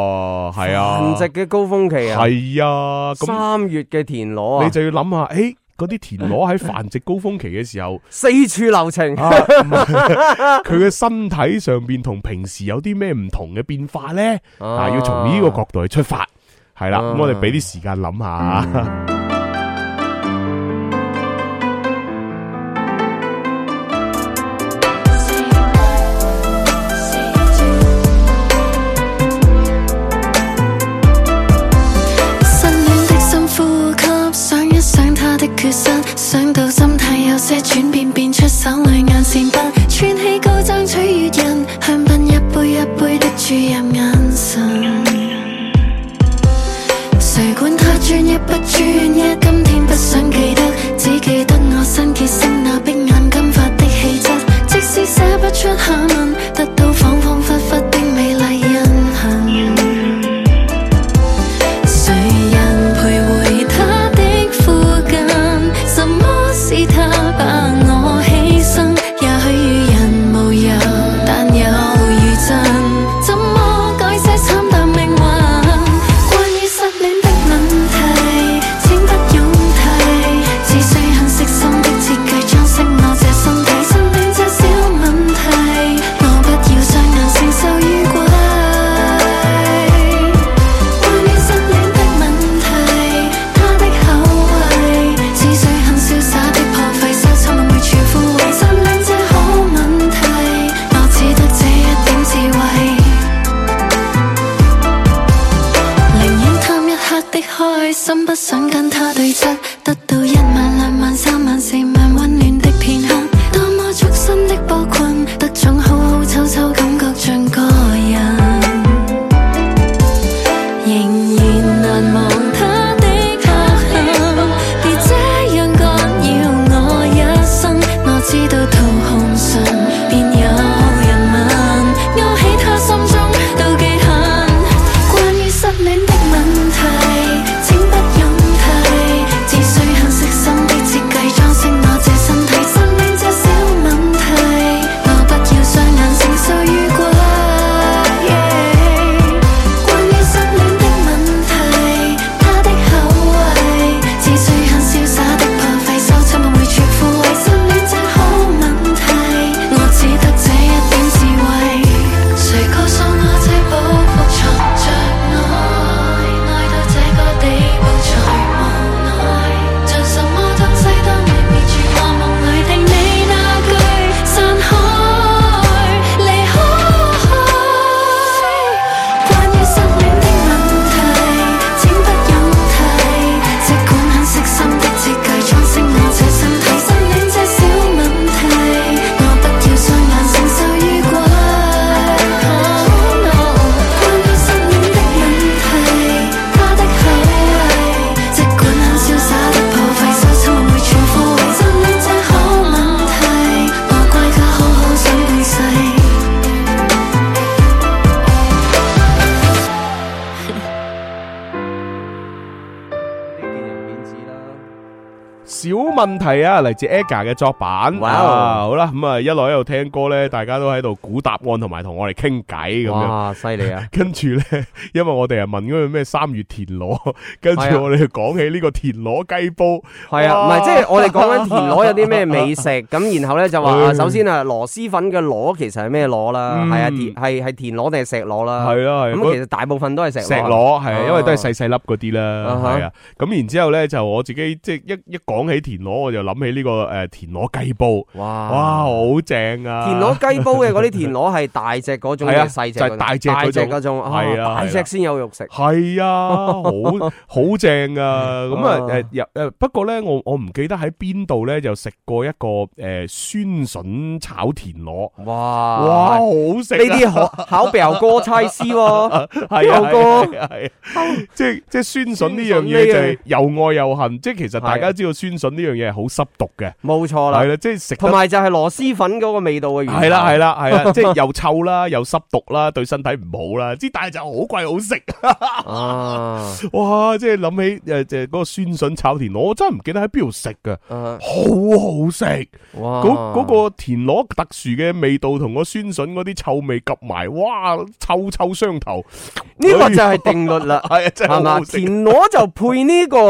係啊， 繁殖嘅高峰期啊， 係啊，咁 3月嘅田螺啊， 你就要諗下， 嗰啲田螺喺繁殖高峰期嘅時候， 四處留情。 佢嘅身體上邊同平時有啲咩唔同嘅變化咧？要從呢個角度去出發，係啦。咁我哋俾啲時間諗下。 缺失，想到心態有些轉變，變出手裏眼線筆，穿起高踭取悅人，香檳一杯一杯的注入眼神。誰管他專一不專一，今天不想記得，只記得我新結識那碧眼金髮的氣質，即使寫不出下文，得到恍恍惚惚的美麗印痕。誰人徘徊他的附近？什麼是他把我犧牲？也許與人無由，但有餘震。怎麼改寫慘淡命運？關於失戀的問題，請不用提，只需很悉心的設計裝飾我這身體。失戀這小問題，我不要雙眼承受於鬼。關於失戀的問題，他的口味，只需瀟灑的破費，收藏每處枯萎。失戀這好問題，我只得這一點智慧。寧願貪一刻的開心，不想跟他對質，得到1萬2萬3萬4萬溫暖的片刻。多麼觸身的波棍，得種好好醜醜感覺像個人。仍然難忘他的刻痕，別這樣干擾我一生。我知道途紅唇，便有人問，勾起他心中妒忌恨。關於失戀的問題，請不用提，只需很悉心的設計裝飾我這身體。失戀這小問題，我不要雙眼承受於鬼。關於失戀的問題，他的口味，只需很瀟灑的破費，收藏我每處枯萎。失戀這好問題，我只得這一點智慧。誰告訴我這寶庫藏着愛，愛到這個地步才無奈，像什麼東西當你滅絕我夢裏的你那句散開離開。關於失戀的問題，請不用提，即管很悉心的設計裝飾我這身體。失戀這小問題，我不要雙眼承受於鬼。關於失戀的問題，他的口味，即管很瀟灑的破費，收藏我每處枯萎。失戀這好問題，我怪他好好想永世。 小問題啊，嚟自 Aga 嘅作品。 哇好啦，咁一路喺度聽歌咧，大家都喺度估答案，同埋同我哋傾偈咁樣。 哇，犀利啊！ 跟住咧，因為我哋係問嗰個咩3月田螺，跟住我哋講起呢個田螺雞煲。 係啊，唔係即係我哋講緊田螺有啲咩美食，咁然後咧就話首先啊螺螄粉嘅螺其實係咩螺啦？係啊，係田螺定係石螺啦？ 係啦，係。 咁其實大部分都係石螺，係因為都係細細粒嗰啲啦，係啊。咁然之後咧就我自己即係一講起田螺，我就諗起呢個田螺雞煲。哇，好正啊！ 田螺雞煲嘅嗰啲田螺係大隻嗰種定係細隻？ 就係大隻嗰種，係啊， 大隻先有肉食。 係啊，好正啊！咁啊不過咧，我唔記得喺邊度咧就食過一個酸筍炒田螺。哇，好食！呢啲考表哥差師喎， 係啊，係即係酸筍呢樣嘢就係又愛又恨，即係其實大家知道酸筍呢樣嘢係好濕毒嘅， 冇錯啦， 係啦，即係食， 同埋就係螺螄粉嗰個味道嘅原因， 係啦，即係又臭啦，又濕毒啦，對身體唔好啦，之但係就好貴好食啊！哇，即係諗起就嗰個酸筍炒田螺，我真係唔記得喺邊度食㗎，好好食！哇，嗰個田螺特殊嘅味道同個酸筍嗰啲臭味夾埋，哇，臭臭相投， 呢個就係定律啦， 係啊，真係好好食。 田螺就配呢個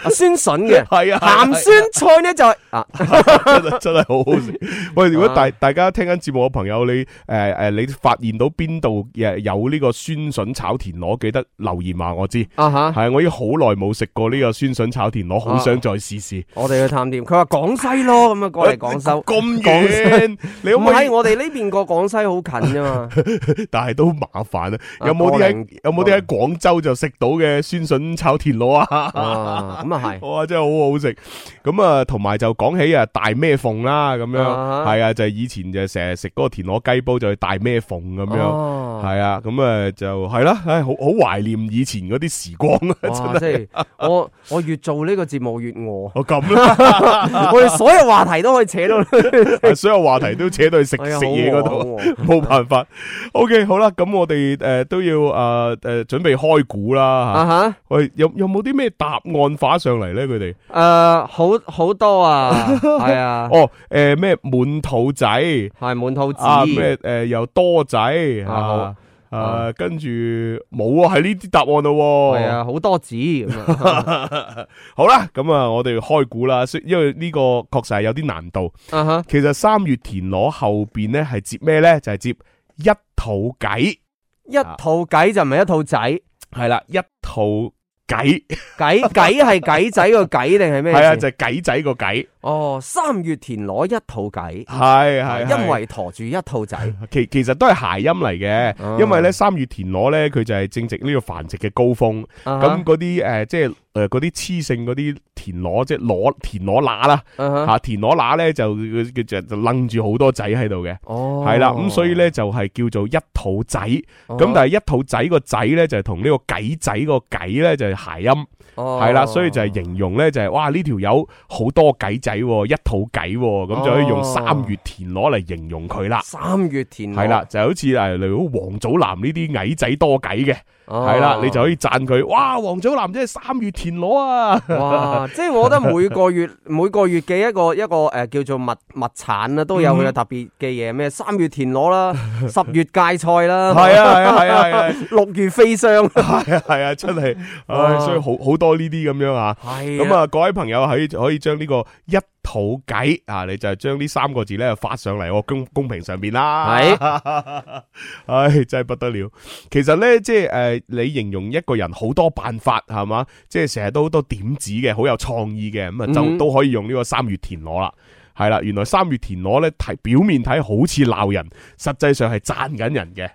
酸筍嘅， 係啊， 鹹酸菜咧就係真係好好食。喂，如果大家聽緊節目嘅朋友，你你發現到邊度有呢個酸筍炒田螺，記得留言話我知。係我已經好耐冇食過呢個酸筍炒田螺，好想再試試。 我哋去探店，佢話廣西咯，咁啊過嚟廣州咁遠，你可唔可以？ 我哋呢邊過廣西好近啫嘛， 但係都麻煩啊！有冇啲喺廣州就食到嘅酸筍炒田螺啊？ 咁啊係， 哇，真係好好食。咁啊，同埋就講起大咩鳳啦，咁樣係啊，就係以前就成日食嗰個田螺雞煲就去大咩鳳咁樣，係啊，咁啊就係啦，好懷念以前嗰啲時光啊！真係， 我越做呢個節目越餓。 我咁啦， 我哋所有話題都可以扯到， 所有話題都扯到去食嘢嗰度，冇辦法。OK， 好啦，咁我哋都要準備開估啦。喂，有冇啲咩答案發上嚟咧？佢哋好多啊，係啊。 咩滿肚仔係滿肚子咩又多仔跟住冇啊，係呢啲答案咯。 係啊，好多子咁啊。 好啦，咁啊，我哋開估啦，因為呢個確實係有啲難度。其實三月田螺後邊咧係接咩咧？就係接一肚計。一肚計就唔係一肚仔， 係啦，一肚計計係計仔個計定係咩？ 係啊，就係計仔個計。 三月田螺一肚計， 係因為駝住一肚仔。 其實都係諧音嚟嘅，因為咧三月田螺咧佢就係正值呢個繁殖嘅高峰，咁嗰啲即係嗰啲雌性嗰啲田螺，即係田螺乸啦，田螺乸咧就楞住好多仔喺度嘅，係啦，咁所以咧就係叫做一肚仔，咁但係一肚仔個仔咧就係同呢個計仔個計咧就係諧音，係啦，所以就係形容咧就係哇呢條友好多計仔，一肚計，咁就可以用三月田螺嚟形容佢啦。 三月田螺係啦，就好似例如黃祖藍呢啲矮仔多計嘅。係啦，你就可以讚佢，哇！黃祖藍真係三月田螺啊！ 哇！即係我覺得每個月嘅一個叫做物產啊，都有佢嘅特別嘅嘢，咩三月田螺啦，10月芥菜啦， 係啊 ，6月飛霜， 係啊，真係，所以好多呢啲咁樣啊。咁啊，各位朋友可以將呢個一肚計啊，你就將呢3個字咧發上嚟我公屏上邊啦。係，真係不得了。其實咧，即係你形容一個人好多辦法係嘛，即係成日都好多點子嘅，好有創意嘅，咁啊就都可以用呢個三月田螺啦。係啦，原來三月田螺咧表面睇好似鬧人，實際上係讚緊人嘅。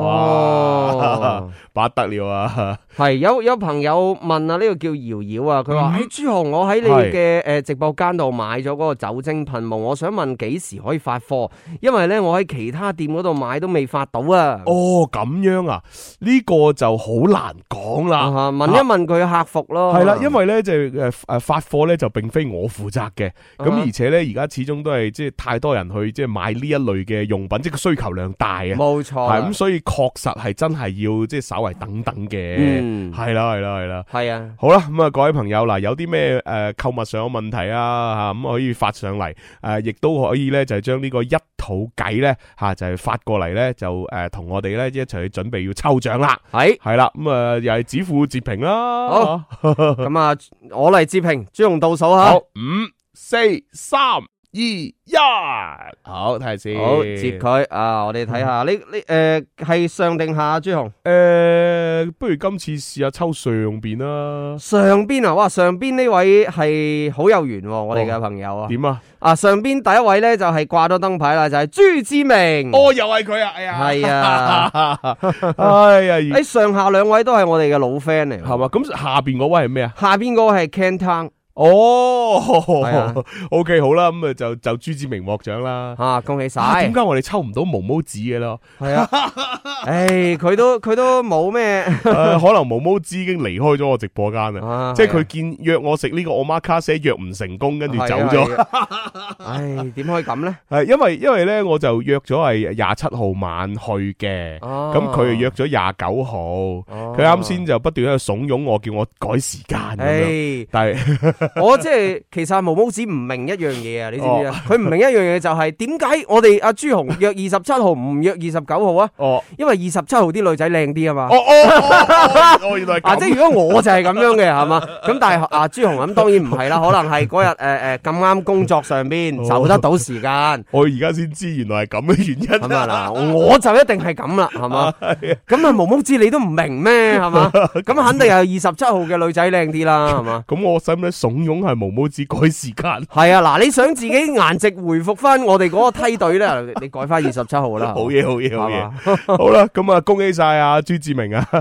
不得了啊！ 係有朋友問啊，呢個叫瑤瑤啊，佢話：朱紅，我喺你嘅直播間度買咗嗰個酒精噴霧，我想問幾時可以發貨？因為咧我喺其他店嗰度買都未發到啊。咁樣啊？呢個就好難講啦。 問一問佢客服咯。 係啦，因為咧就發貨咧就並非我負責嘅，咁而且咧而家始終都係即係太多人去即係買呢一類嘅用品，即係個需求量大啊。 冇錯。 係咁，所以確實係真係要即係稍為等等嘅。係啦。 係啊。好啦，咁啊，各位朋友嗱，有啲咩購物上嘅問題啊，咁可以發上嚟，亦都可以咧就係將呢個一肚計咧就係發過嚟咧，就同我哋咧一齊去準備要抽獎啦。係啦，咁啊又係指付截屏啦。 好，咁啊我嚟截屏，朱紅倒數吓。 好，5、4、3、2、1，好睇下先。 好，接佢啊！我哋睇下呢係上定下朱紅？ 不如今次試下抽上邊啦。 上邊啊，哇！上邊呢位係好有緣，我哋嘅朋友啊。 點啊？ 上邊第一位咧就係掛咗燈牌啦，就係朱志明。 又係佢啊！哎呀， 係啊， 哎呀， 上下兩位都係我哋嘅老 friend 嚟， 係嘛？咁下邊嗰位係咩啊？ 下邊嗰位係 Canton。 OK 好啦，咁啊就朱志明獲獎啦， 恭喜晒！ 點解我哋抽唔到毛毛子嘅咯？ 係啊，佢都冇咩， 可能毛毛子已經離開咗我直播間啦，即係佢約我食呢個我媽卡西約唔成功，跟住走咗。 點可以咁咧？ 係因為咧，我就約咗係27號晚去嘅，咁佢約咗29號，佢啱先就不斷喺度慫恿我，叫我改時間咁樣，但係。 我即係其實毛毛子唔明一樣嘢啊，你知唔知啊？佢唔明一樣嘢就係點解我哋阿朱紅約27號唔約29號啊？因為27號啲女仔靚啲啊嘛。 原來咁。 即係如果我就係咁樣嘅係嘛？咁但係阿朱紅咁當然唔係啦，可能係嗰日咁啱工作上邊就得到時間。 我而家先知原來係咁嘅原因。 咁啊嗱，我就一定係咁啦，係嘛？咁啊毛毛子你都唔明咩？係嘛？咁肯定係27號嘅女仔靚啲啦，係嘛？ 咁我使唔使慫恿係毛毛子改時間？ 係啊，嗱，你想自己顏值回復翻我哋嗰個梯隊咧，你改翻27號啦。 好嘢，好嘢，好嘢。好啦，咁啊，恭喜晒阿朱志明啊！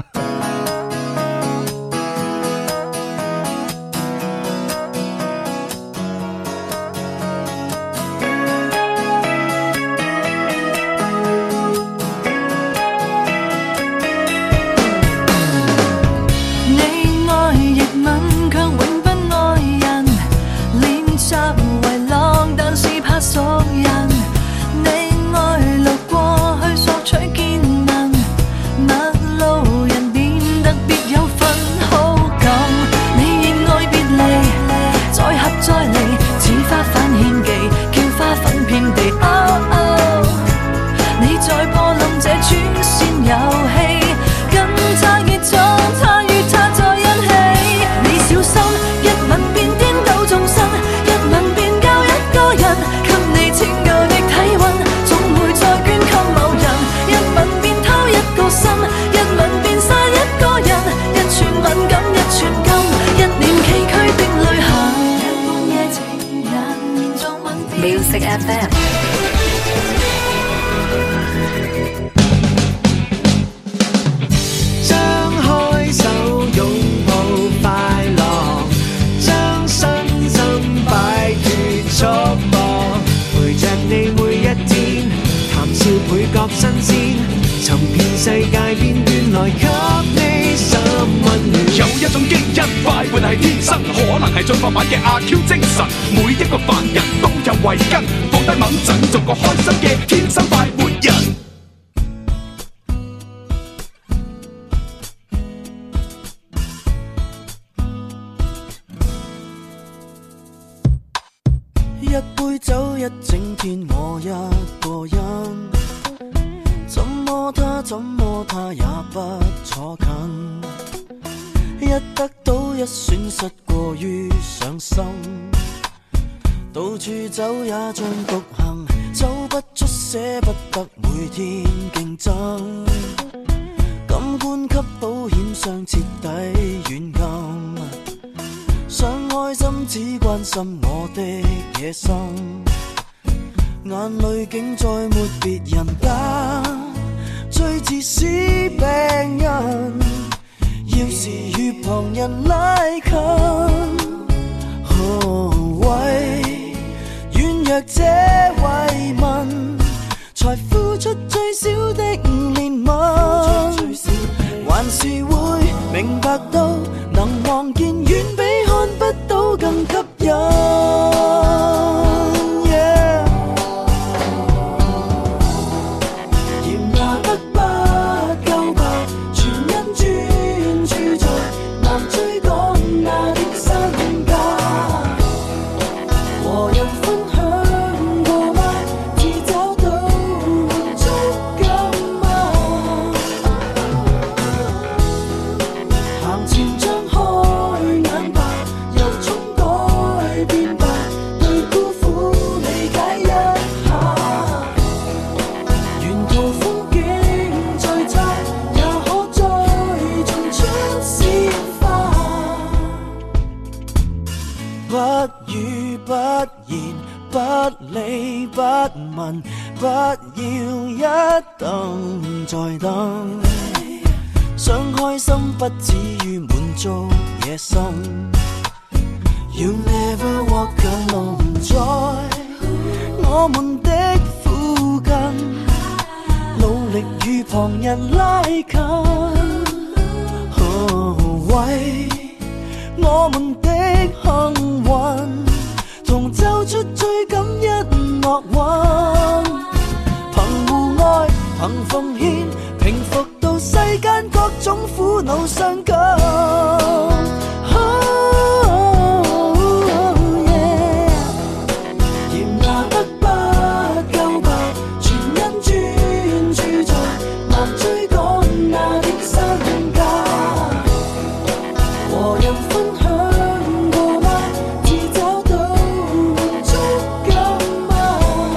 人分享過嗎？只找到滿足感嗎？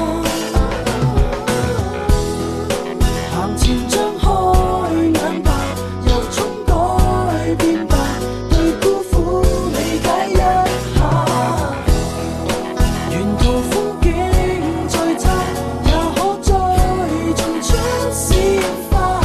行前張開眼吧，由衷改變吧，對孤苦理解一下。沿途風景再差，也可再種出鮮花。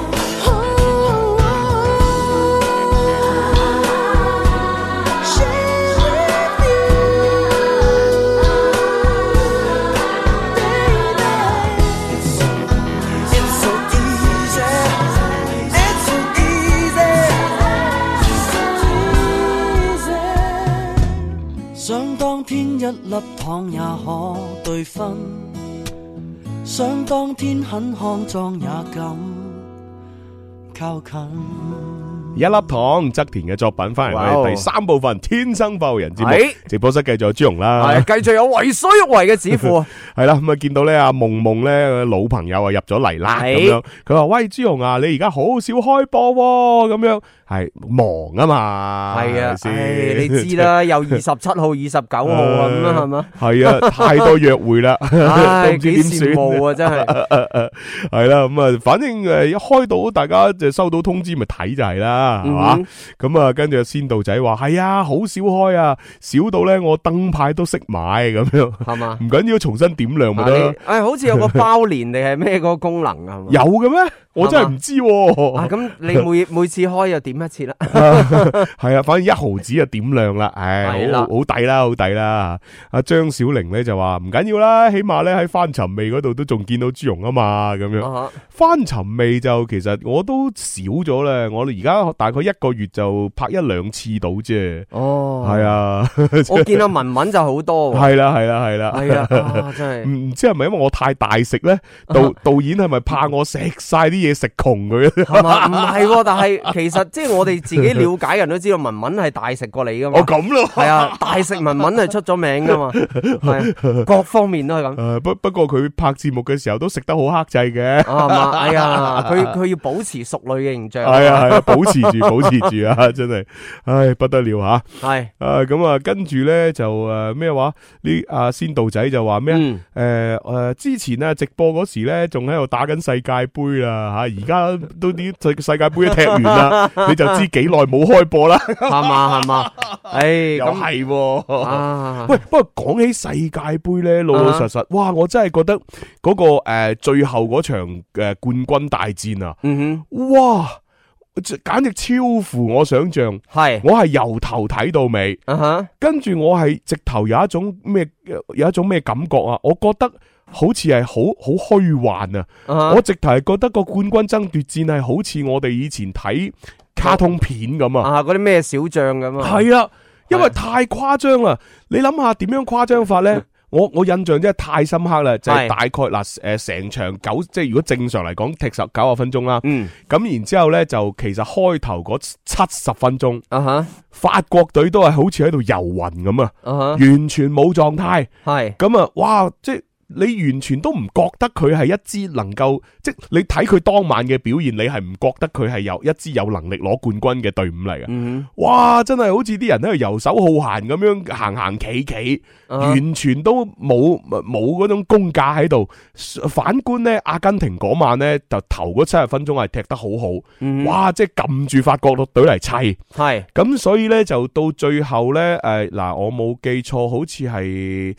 想當天一粒糖也可對分，想當天很骯髒也敢靠近。 一粒糖，側田嘅作品翻嚟我哋第三部分《天生快活人》節目，直播室繼續有朱容啦， 繼續有為所欲為嘅指父， 係啦，咁啊見到咧阿夢夢咧老朋友啊入咗嚟啦，咁樣佢話喂朱容啊，你而家好少開播喎，咁樣係忙啊嘛， 係啊，你知啦，又27號、29號啊咁啊，係嘛？ 係啊，太多約會啦，都唔知點算幾羨慕啊，真係係啦，咁啊，反正一開到大家就收到通知，咪睇就係啦。係嘛？咁啊，跟住先導仔話係啊，好少開啊，少到咧我燈牌都識買咁樣，係嘛？唔緊要，重新點亮咪得。 好似有個包年定係咩嗰個功能啊？ 有嘅咩？我真係唔知。 咁你每次開又點一次啦？ 係啊，反正1毫子就點亮啦，唉，好抵啦，好抵啦。阿張小玲咧就話唔緊要啦，起碼咧喺翻尋味嗰度都仲見到朱容啊嘛，咁樣。翻尋味就其實我都少咗啦，我哋而家大概1個月就拍1-2次到啫。哦，係啊， 我見阿文文就好多。 係啦， 真係唔知係咪因為我太大食咧？導演係咪怕我食晒啲嘢食窮佢？ 係嘛？唔係，但係其實即係我哋自己了解人都知道文文係大食過你噶嘛。 咁咯。係啊，大食文文係出咗名噶嘛。係各方面都係咁。 不過佢拍節目嘅時候都食得好克制嘅。 係嘛？哎呀，佢要保持淑女嘅形象。 係啊，保持住啊，真係，唉，不得了吓。係咁啊，跟住咧就咩話？呢阿先導仔就話咩之前啊直播嗰時咧仲喺度打緊世界盃啦吓，而家都啲世界盃一踢完啦，你就知幾耐冇開播啦， 係嘛？唉， 又係喂，不過講起世界盃咧，老老實實，哇，我真係覺得嗰個最後嗰場冠軍大戰啊，哇！簡直超乎我想象，我係由頭睇到尾，跟住我係直頭有一種咩感覺啊？我覺得好似係好虛幻啊！我直頭係覺得個冠軍爭奪戰係好似我哋以前睇卡通片咁啊！ 嗰啲咩小將咁啊？ 係啊，因為太誇張啦！你諗下點樣誇張法呢？我印象真係太深刻啦，就係大概嗱成場即係如果正常嚟講踢90分鐘啦，咁然之後咧就其實開頭嗰70分鐘，法國隊都係好似喺度遊魂咁啊，完全冇狀態，咁啊，哇，即係。你完全都唔覺得佢係一支能夠，即係你睇佢當晚嘅表現，你係唔覺得佢係有一支有能力攞冠軍嘅隊伍嚟嘅。哇，真係好似啲人喺度游手好閒咁樣行企，完全都冇嗰種功架喺度。反觀呢，阿根廷嗰晚呢，就頭嗰70分鐘係踢得好好，哇，即係撳住法國隊嚟砌。係咁，所以呢，就到最後呢，嗱，我冇記錯，好似係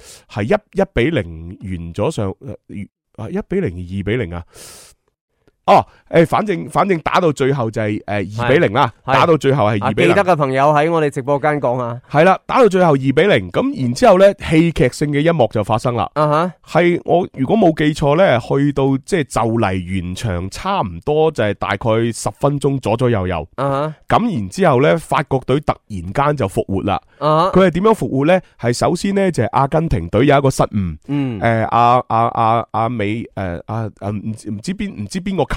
1-0完咗上1-0、2-0啊！哦，反正打到最後就係2-0啦，打到最後係2-0。 記得嘅朋友喺我哋直播間講啊， 係啦，打到最後2-0，咁然之後咧，戲劇性嘅一幕就發生啦。係我如果冇記錯咧，去到即係就嚟完場，差唔多就係大概10分鐘左右。咁然之後咧，法國隊突然間就復活啦。佢係點樣復活咧？係首先咧就係阿根廷隊有一個失誤。阿美唔知邊個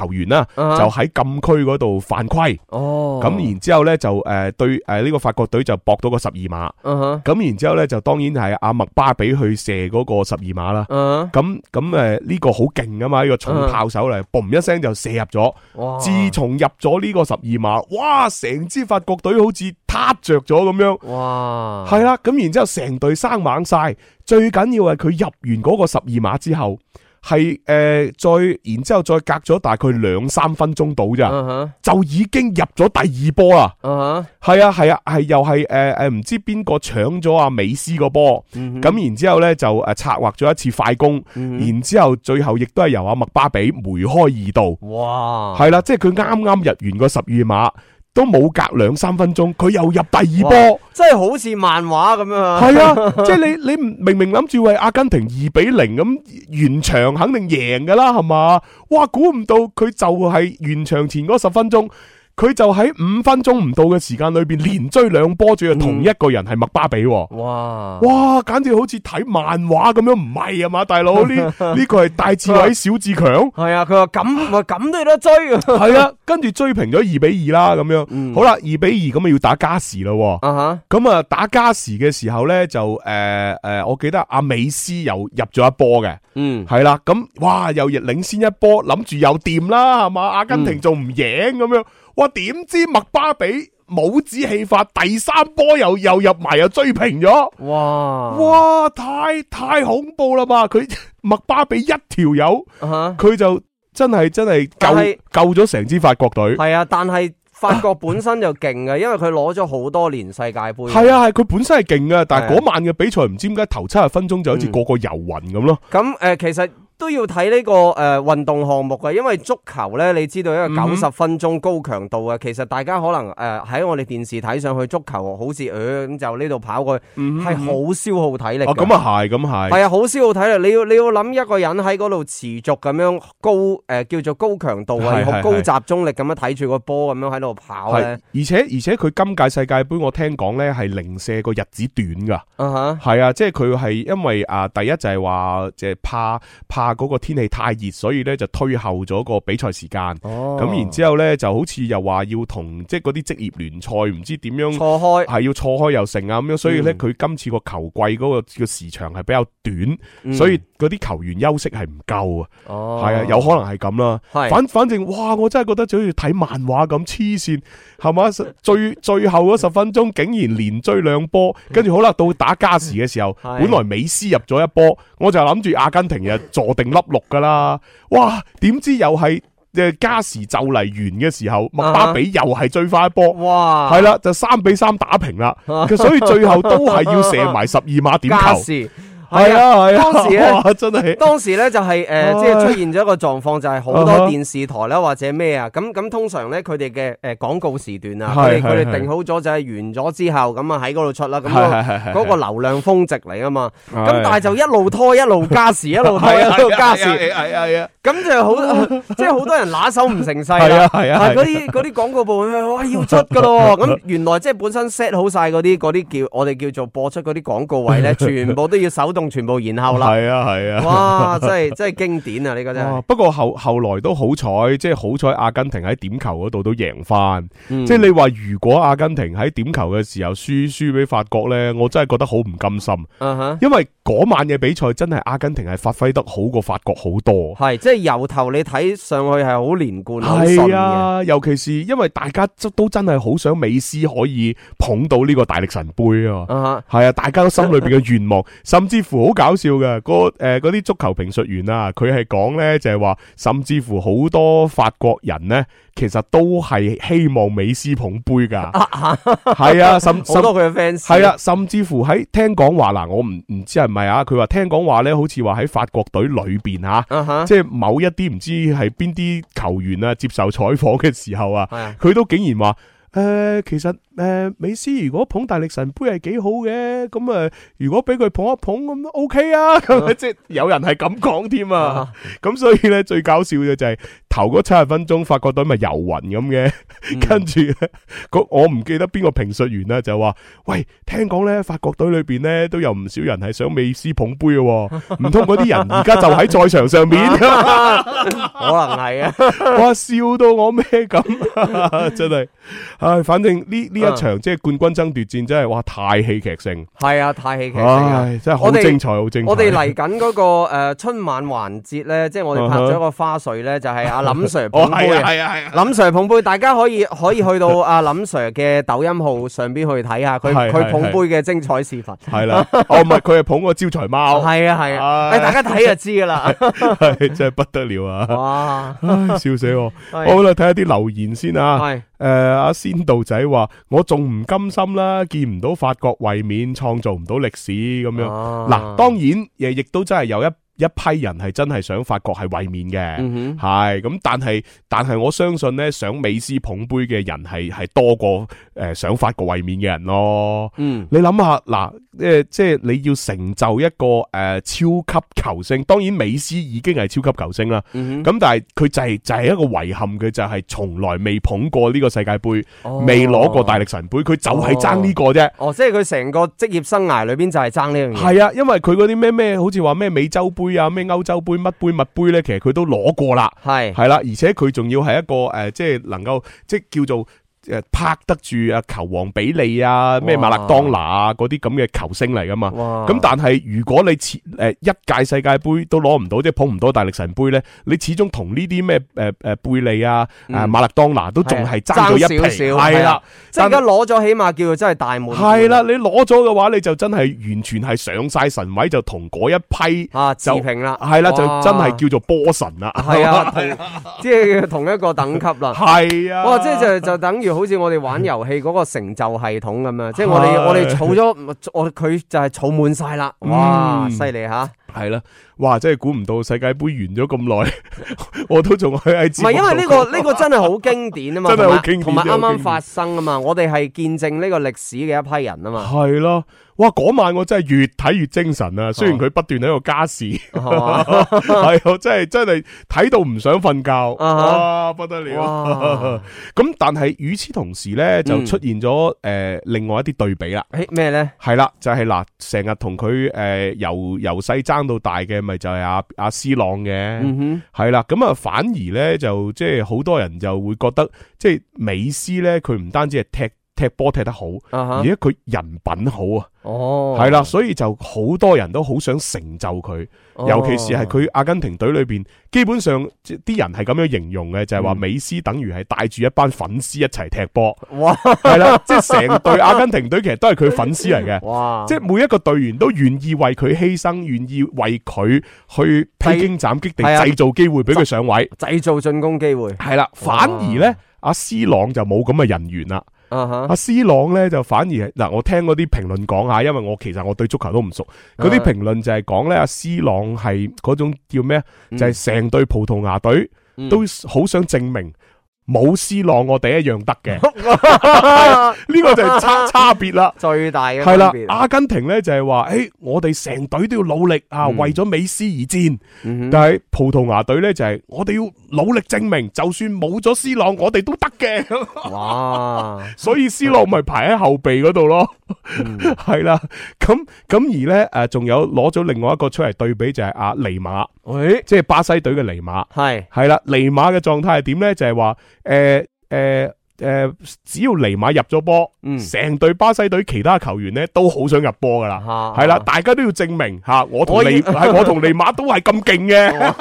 球員啦，就喺禁區嗰度犯規。咁然之後咧就對呢個法國隊就搏到個12碼。咁然之後咧就當然係阿麥巴比去射嗰個12碼啦。咁呢個好勁啊嘛，呢個重炮手嚟，嘣一聲就射入咗。自從入咗呢個12碼，哇！成支法國隊好似撻着咗咁樣。哇！係啦，咁然之後成隊生猛晒。最緊要係佢入完嗰個12碼之後，係然之後再隔咗大概2-3分鐘到咋，就已經入咗第二波啦。係啊，係又係唔知邊個搶咗阿美斯個波，咁然之後咧就策劃咗一次快攻，然之後最後亦都係由阿麥巴比梅開二度。哇！係啦，即係佢啱啱入完個12碼。都冇隔2-3分鐘，佢又入第二波， 真係好似漫畫咁樣。 係啊，即係你明明諗住為阿根廷2-0咁完場肯定贏噶啦，係嘛？哇，估唔到佢就係完場前嗰10分鐘。佢就喺5分鐘唔到嘅時間裏邊連追2波，仲要同一個人係麥巴比。哇，簡直好似睇漫畫咁樣，唔係啊嘛，大佬，呢個係戴志偉小志強。係啊，佢話咁都有得追。 係啊，跟住追平咗2-2啦，咁樣。好啦，2-2咁啊要打加時咯。咁啊打加時嘅時候咧就我記得阿美斯又入咗一波嘅。係啦，咁哇又領先一波，諗住又掂啦，係嘛？阿根廷仲唔贏咁樣？哇！點知麥巴比帽子戲法，第3波又入埋，又追平咗。哇！太恐怖啦嘛！佢麥巴比一條友，佢就真係救咗成支法國隊。 係啊，但係法國本身就勁嘅，因為佢攞咗好多年世界盃。 係啊，佢本身係勁嘅，但係嗰晚嘅比賽唔知點解頭70分鐘就好似個遊魂咁咯。 咁其實都要睇呢個運動項目嘅，因為足球咧，你知道一個90分鐘高強度嘅，其實大家可能喺我哋電視睇上去足球好似咁就呢度跑過去，係好消耗體力。 咁啊係，係啊，好消耗體力。你要諗一個人喺嗰度持續咁樣高叫做高強度啊，好高集中力咁樣睇住個波咁樣喺度跑咧。而且佢今屆世界盃我聽講咧係零舍個日子短噶。係啊，即係佢係因為第一就係話即係怕嗰個天氣太熱，所以咧就推後咗個比賽時間。咁然之後咧就好似又話要同即係嗰啲職業聯賽唔知點樣錯開， 係要錯開又成啊咁樣，所以咧佢今次個球季嗰個叫時長係比較短，所以嗰啲球員休息係唔夠啊。係啊，有可能係咁啦。反正哇，我真係覺得就好似睇漫畫咁黐線，係嘛？最後嗰10分鐘竟然連追2波，跟住好啦，到打加時嘅時候，本來美斯入咗一波，我就諗住阿根廷就坐定粒6噶啦，哇！點知又係加時就嚟完嘅時候，麥巴比又係追翻一波，哇！係啦，就3-3打平啦，所以最後都係要射埋12碼點球。係啊， 當時咧真係， 當時咧就係即係出現咗一個狀況，就係好多電視台啦或者咩啊，咁通常咧佢哋嘅廣告時段啊，佢哋定好咗就係完咗之後咁啊喺嗰度出啦，咁嗰個流量峰值嚟啊嘛，咁但係就一路拖一路加時，一路拖一路加時，係啊，咁就好即係好多人拿手唔成勢啦，係嗰啲廣告部哇要出噶咯，咁原來即係本身 set 好晒嗰啲叫我哋叫做播出嗰啲廣告位咧，全部都要手動全部延後啦，係啊，哇，真係經典啊！呢個真係。 不過後來都好彩，即係好彩阿根廷喺點球嗰度都贏翻。即係你話如果阿根廷喺點球嘅時候輸俾法國咧，我真係覺得好唔甘心。因為嗰晚嘅比賽真係阿根廷係發揮得好過法國好多。 係，即係由頭你睇上去係好連貫，好順嘅。係啊， 尤其是因為大家都真係好想美斯可以捧到呢個大力神杯啊。係啊，大家都心裏邊嘅願望，甚至乎好搞笑嘅，嗰啲足球評述員啊，佢係講咧就係話，甚至乎好多法國人咧，其實都係希望美斯捧杯噶，係啊， 好多佢嘅 fans， 係啊，甚至乎喺聽講話嗱，我唔知係咪啊，佢話聽講話咧，好似話喺法國隊裏邊吓，即係某一啲唔知係邊啲球員啊接受採訪嘅時候啊，佢都竟然話。其實美斯如果捧大力神杯係幾好嘅，咁如果俾佢捧一捧咁都 OK 啊，咁即係有人係咁講添啊，咁所以咧最搞笑嘅就係頭嗰70分鐘法國隊咪遊雲咁嘅，跟住我唔記得邊個評述員啦，就話：喂，聽講咧法國隊裏邊咧都有唔少人係想美斯捧杯嘅，唔通嗰啲人而家就喺賽場上面？可能係啊！ 哇，笑到我咩咁，真係，唉，反正呢一場即係冠軍爭奪戰真係哇太戲劇性， 係啊，太戲劇性啊， 真係好精彩，好精彩。 我哋嚟緊嗰個春晚環節咧，即係我哋拍咗一個花絮咧，就係阿林 Sir 捧杯，係林 Sir 捧杯，大家可以去到阿林 Sir 嘅抖音號上邊去睇下佢捧杯嘅精彩視頻。係啦， 唔係佢係捧個招財貓。 係啊，大家睇就知噶啦， 係真係不得了啊！哇，笑死我。好啦，睇下啲留言先啊。係阿仙道仔話：我仲唔甘心啦，見唔到法國衛冕，創造唔到歷史咁樣。嗱，當然亦都真係有一批人係真係想法國係衛冕嘅，係咁，但係我相信咧，想美斯捧杯嘅人係多過想法國衛冕嘅人咯。你諗下嗱，即係你要成就一個超級球星，當然美斯已經係超級球星啦。咁但係佢就係一個遺憾，佢就係從來未捧過呢個世界杯，未攞過大力神杯，佢就係爭呢個啫。即係佢成個職業生涯裏邊就係爭呢樣嘢。係啊，因為佢嗰啲咩，好似話咩美洲杯啊，咩歐洲杯乜杯乜杯咧，其實佢都攞過啦，係啦，而且佢仲要係一個即係能夠即係叫做拍得住球王比利啊，咩馬勒當拿啊嗰啲咁嘅球星嚟噶嘛。咁但係如果你一屆世界杯都攞唔到，即係捧唔到大力神杯咧，你始終同呢啲咩貝利啊、馬勒當拿都仲係爭咗一皮，係啦。即係而家攞咗，起碼叫做真係大滿貫。係啦，你攞咗嘅話，你就真係完全係上晒神位，就同嗰一批持平啦。 係啦，就真係叫做波神啦。係啊， 即係同一個等級啦。係啊，哇！即係就等於。好似我哋玩遊戲嗰個成就系統咁樣，即係我哋儲咗，佢就係儲滿晒啦，哇，犀利吓！係啦，哇，真係估唔到世界杯完咗咁耐，我都仲喺節目。唔係，因為呢個真係好經典啊嘛，真係好經典，同埋啱啱發生啊嘛，我哋係見證呢個歷史嘅一批人啊嘛。係咯，哇，嗰晚我真係越睇越精神啊！雖然佢不斷喺度加時，係真係睇到唔想瞓覺，哇，不得了！咁但係與此同時咧，就出現咗另外一啲對比啦。咩咧？係啦，就係嗱，成日同佢由細爭到大嘅，咪就係阿 C 朗嘅，係啦。咁啊，反而咧就即係好多人就會覺得，即係美斯咧，佢唔單止係踢波踢得好，而且佢人品好啊。係啦，所以就好多人都好想成就佢，尤其是係佢阿根廷隊裏邊，基本上啲人係咁樣形容嘅，就係話美斯等於係帶住一班粉絲一齊踢波。哇！係啦，即係成隊阿根廷隊其實都係佢粉絲嚟嘅。哇！即係每一個隊員都願意為佢犧牲，願意為佢去披荊斬棘地製造機會俾佢上位，製造進攻機會。係啦，反而咧阿 C 朗就冇咁嘅人緣啦。阿 C 朗咧就反而係嗱，我聽嗰啲評論講下，因為其實我對足球都唔熟，嗰啲評論就係講咧阿 C 朗係嗰種叫咩？就係成隊葡萄牙隊都好想證明冇 C 朗我哋一樣得嘅，呢個就係差別啦，最大嘅係啦。阿根廷咧就係話，我哋成隊都要努力啊，為咗美斯而戰。但係葡萄牙隊咧就係我哋要努力證明，就算冇咗 C 朗，我哋都得嘅。哇！所以 C 朗咪排喺後備嗰度咯。係啦，咁而咧仲有攞咗另外一個出嚟對比，就係阿尼馬，即係巴西隊嘅尼馬。係啦，尼馬嘅狀態係點咧？就係話只要尼馬入咗波，成隊巴西隊其他球員咧都好想入波噶啦，係啦，大家都要證明吓，我同尼馬都係咁勁嘅，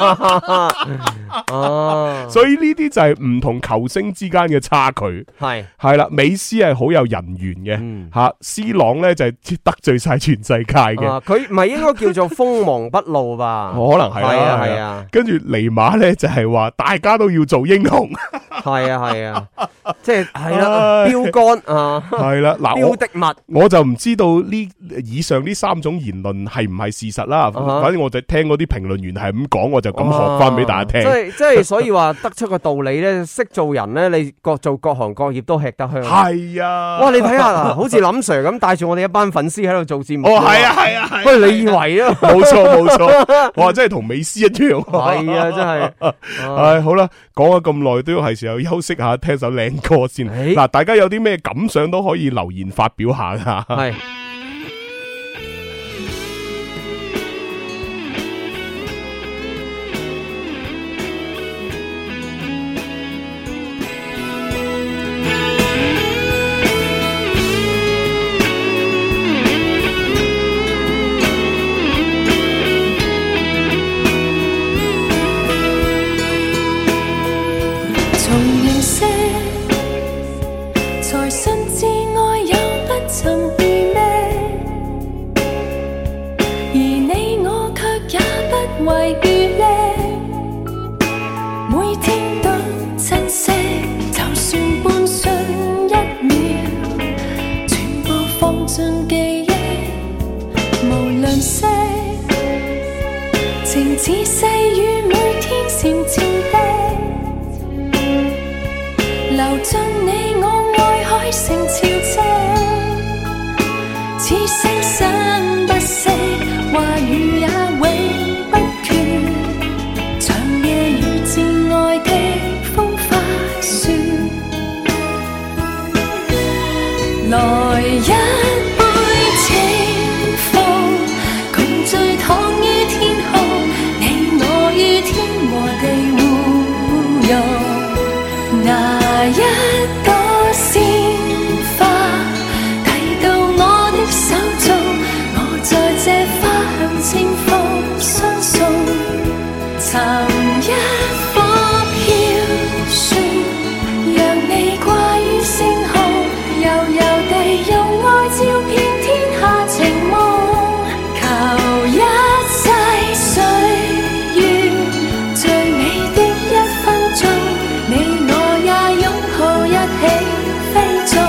所以呢啲就係唔同球星之間嘅差距，係啦，美斯係好有人緣嘅，吓，C 朗咧就係得罪晒全世界嘅，佢唔係應該叫做鋒芒不露吧？可能係啦，係啊，跟住尼馬咧就係話大家都要做英雄，係啊， 即係係啦，標杆啊， 係啦，嗱， 標的物， 我就唔知道呢以上呢3種言論係唔係事實啦。反正我就聽嗰啲評論員係咁講，我就咁學翻俾大家聽。 即係所以話得出個道理咧，識做人咧，你做各行各業都吃得香。 係啊， 哇！你睇下啦，好似林 Sir 咁帶住我哋一班粉絲喺度做節目。 哦，係啊， 喂，你以為啊？ 冇錯，哇，真係同美斯一樣。 係啊，真係。 唉，好啦，講咗咁耐，都要係時候休息下，聽首靚歌先。嗱，大家有啲咩感想都可以留言發表下噶。 係。 情似細雨，每天閃照的，流進你我愛海成潮汐，似聲生不息，話語也永不缺，長夜與摯愛的風花雪，來一杯清風，共醉躺於天空，你我於天和地互融，拿一朵鮮花遞到我的手中，我在這花香清風相送，尋一顆飄雪，讓你掛於星空，悠悠地用愛照遍天下情夢，求一世歲月最美的一分鐘，你我也擁抱一起飛縱。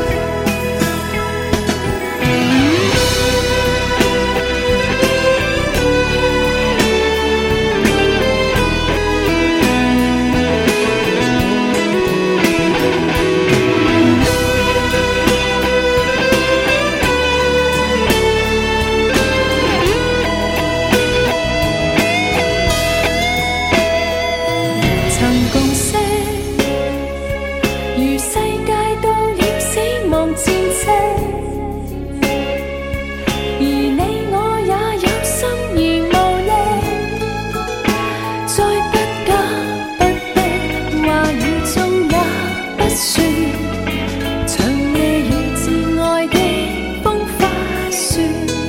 曾共識，如世界到了死亡戰績，而你我也有心而無力，再不假不逼，話語中也不說，長夜與摯愛的風花雪，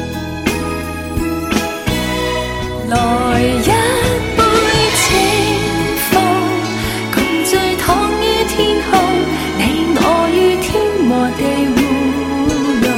來一杯清風，共醉躺於天空，你我於天和地互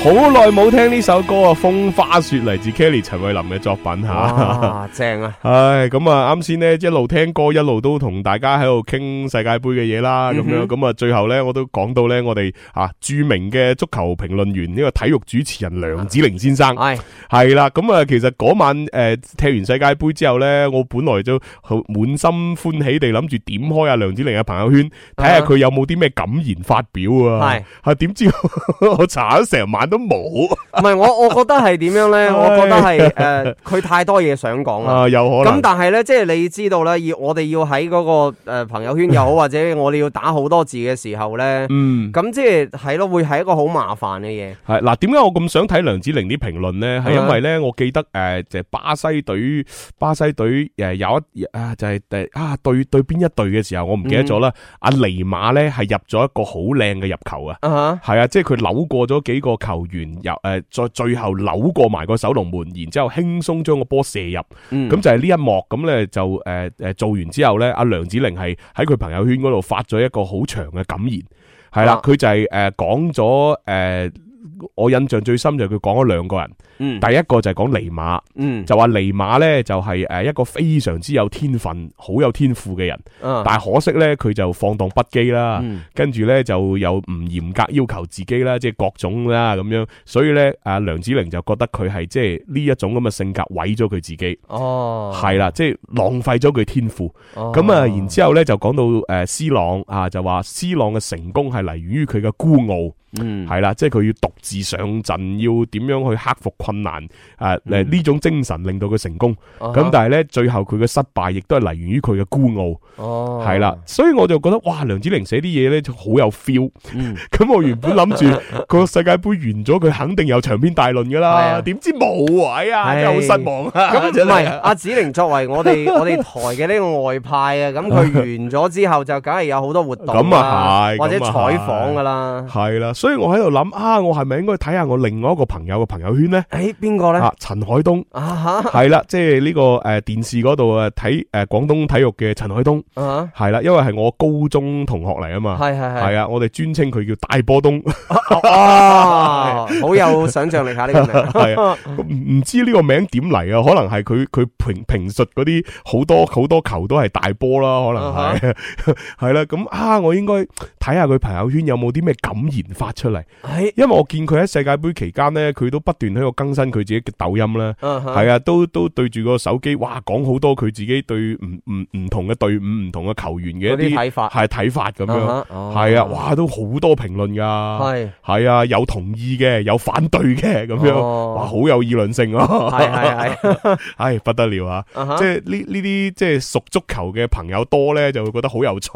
好耐冇聽呢首歌啊，風花雪嚟自 Kelly 陳慧琳嘅作品吓， 哇，正啊！ 唉，咁啊，啱先呢，一路聽歌，一路都同大家喺度傾世界盃嘅嘢啦，咁樣，咁啊，最後呢，我都講到呢，我哋著名嘅足球評論員呢個體育主持人梁子玲先生，係啦，咁啊，其實嗰晚踢完世界盃之後呢，我本來就滿心歡喜地諗住點開阿梁子玲嘅朋友圈，睇下佢有冇啲咩感言發表啊，係點知我查咗成晚都冇， 唔係我覺得係點樣咧？我覺得係佢太多嘢想講啦， 有可能。 咁但係咧，即係你知道咧，我哋要喺嗰個朋友圈又好，或者我哋要打好多字嘅時候咧，咁即係咯，會係一個好麻煩嘅嘢。係嗱，點解我咁想睇梁子玲啲評論咧？係因為咧，我記得就係巴西隊有一就係對邊一隊嘅時候，我唔記得咗啦。阿尼馬咧係入咗一個好靚嘅入球啊，係啊，即係佢扭過咗幾個球員，再最後扭過埋個守龍門，然之後輕鬆將個波射入，咁就係呢一幕。咁咧就做完之後咧，阿梁子玲係喺佢朋友圈嗰度發咗一個好長嘅感言，係啦，佢就係講咗我印象最深就係佢講咗兩個人，第一個就係講尼馬，就話尼馬咧就係一個非常之有天分、好有天賦嘅人，但係可惜咧佢就放蕩不羈啦，跟住咧就又唔嚴格要求自己啦，即係各種啦咁樣，所以咧阿梁子玲就覺得佢係即係呢一種咁嘅性格毀咗佢自己，係啦，即係浪費咗佢天賦，咁啊，然之後咧就講到C朗啊，就話 C朗嘅成功係嚟源於佢嘅孤傲。係啦，即係佢要獨自上陣，要點樣去克服困難？呢種精神令到佢成功。咁但係咧，最後佢嘅失敗亦都係嚟源於佢嘅孤傲。係啦，所以我就覺得哇，梁子玲寫啲嘢咧就好有 feel。咁我原本諗住個世界盃完咗，佢肯定有長篇大論噶啦，點知冇啊！真係好失望啊！ 咁唔係阿子玲作為我哋台嘅呢個外派啊，咁佢完咗之後就梗係有好多活動，咁啊係，或者採訪噶啦， 係啦。所以我喺度諗我係咪應該睇下我另外一個朋友嘅朋友圈咧？ 邊個咧？ 陳海東係啦，即係呢個電視嗰度睇廣東體育嘅陳海東係啦，因為係我高中同學嚟啊嘛，係啊，我哋專稱佢叫大波東， 好有想象力下呢個名， 係啊，唔知呢個名點嚟啊？可能係佢評述嗰啲好多球都係大波啦，可能係係啦，咁我應該睇下佢朋友圈有冇啲咩感言發出嚟，因為我見佢喺世界盃期間咧，佢都不斷喺度更新佢自己嘅抖音啦，係啊，都對住個手機，哇，講好多佢自己對唔同嘅隊伍、唔同嘅球員嘅一啲睇法咁樣，係啊，哇，都好多評論噶，係啊，有同意嘅，有反對嘅，咁樣，哇，好有議論性啊，係不得了啊，即係呢啲即係熟足球嘅朋友多咧，就會覺得好有趣。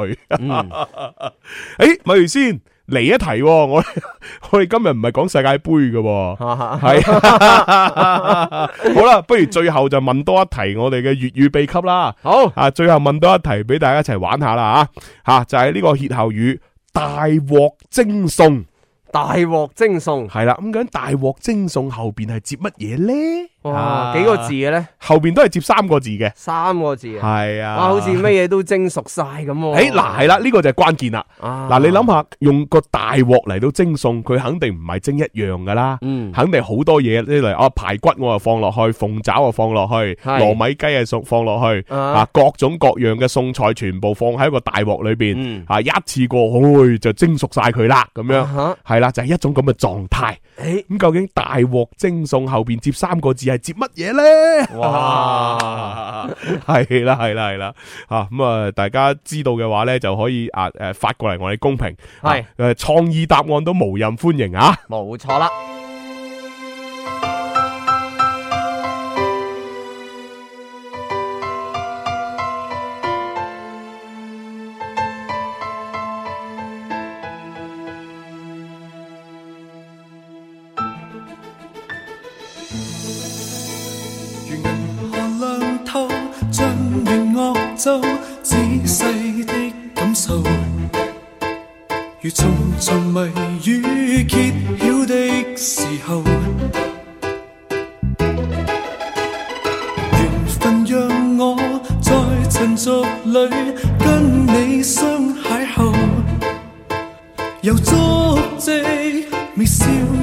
咪住先。嚟一題，我哋今日唔係講世界盃嘅，係好啦，不如最後就問多一題我哋嘅粵語秘笈啦。好最後問多一題俾大家一齊玩下啦吓，就係呢個歇後語大鑊蒸餸。 大鑊蒸餸係啦，咁究竟大鑊蒸餸後邊係接乜嘢咧？ 哇，幾個字嘅咧？ 後邊都係接3個字嘅。 3個字係啊， 好似乜嘢都蒸熟晒咁。 嗱係啦，呢個就係關鍵啦。嗱，你諗下，用個大鑊嚟到蒸餸，佢肯定唔係蒸一樣噶啦，肯定好多嘢，例如排骨我又放落去，鳳爪又放落去，糯米雞又放落去，各種各樣嘅餸菜全部放喺個大鑊裏邊，一次過，就蒸熟晒佢啦，咁樣係啦，就係一種咁嘅狀態。咁究竟大鑊蒸餸後邊接3個字係接乜嘢咧？哇，係啦，咁啊，大家知道嘅話咧，就可以發過嚟我哋公屏，係創意答案都無任歡迎啊！ 冇錯啦。 仔細的感受，如重重謎語揭曉的時候，緣分讓我在塵俗裏跟你相邂逅，有足跡微笑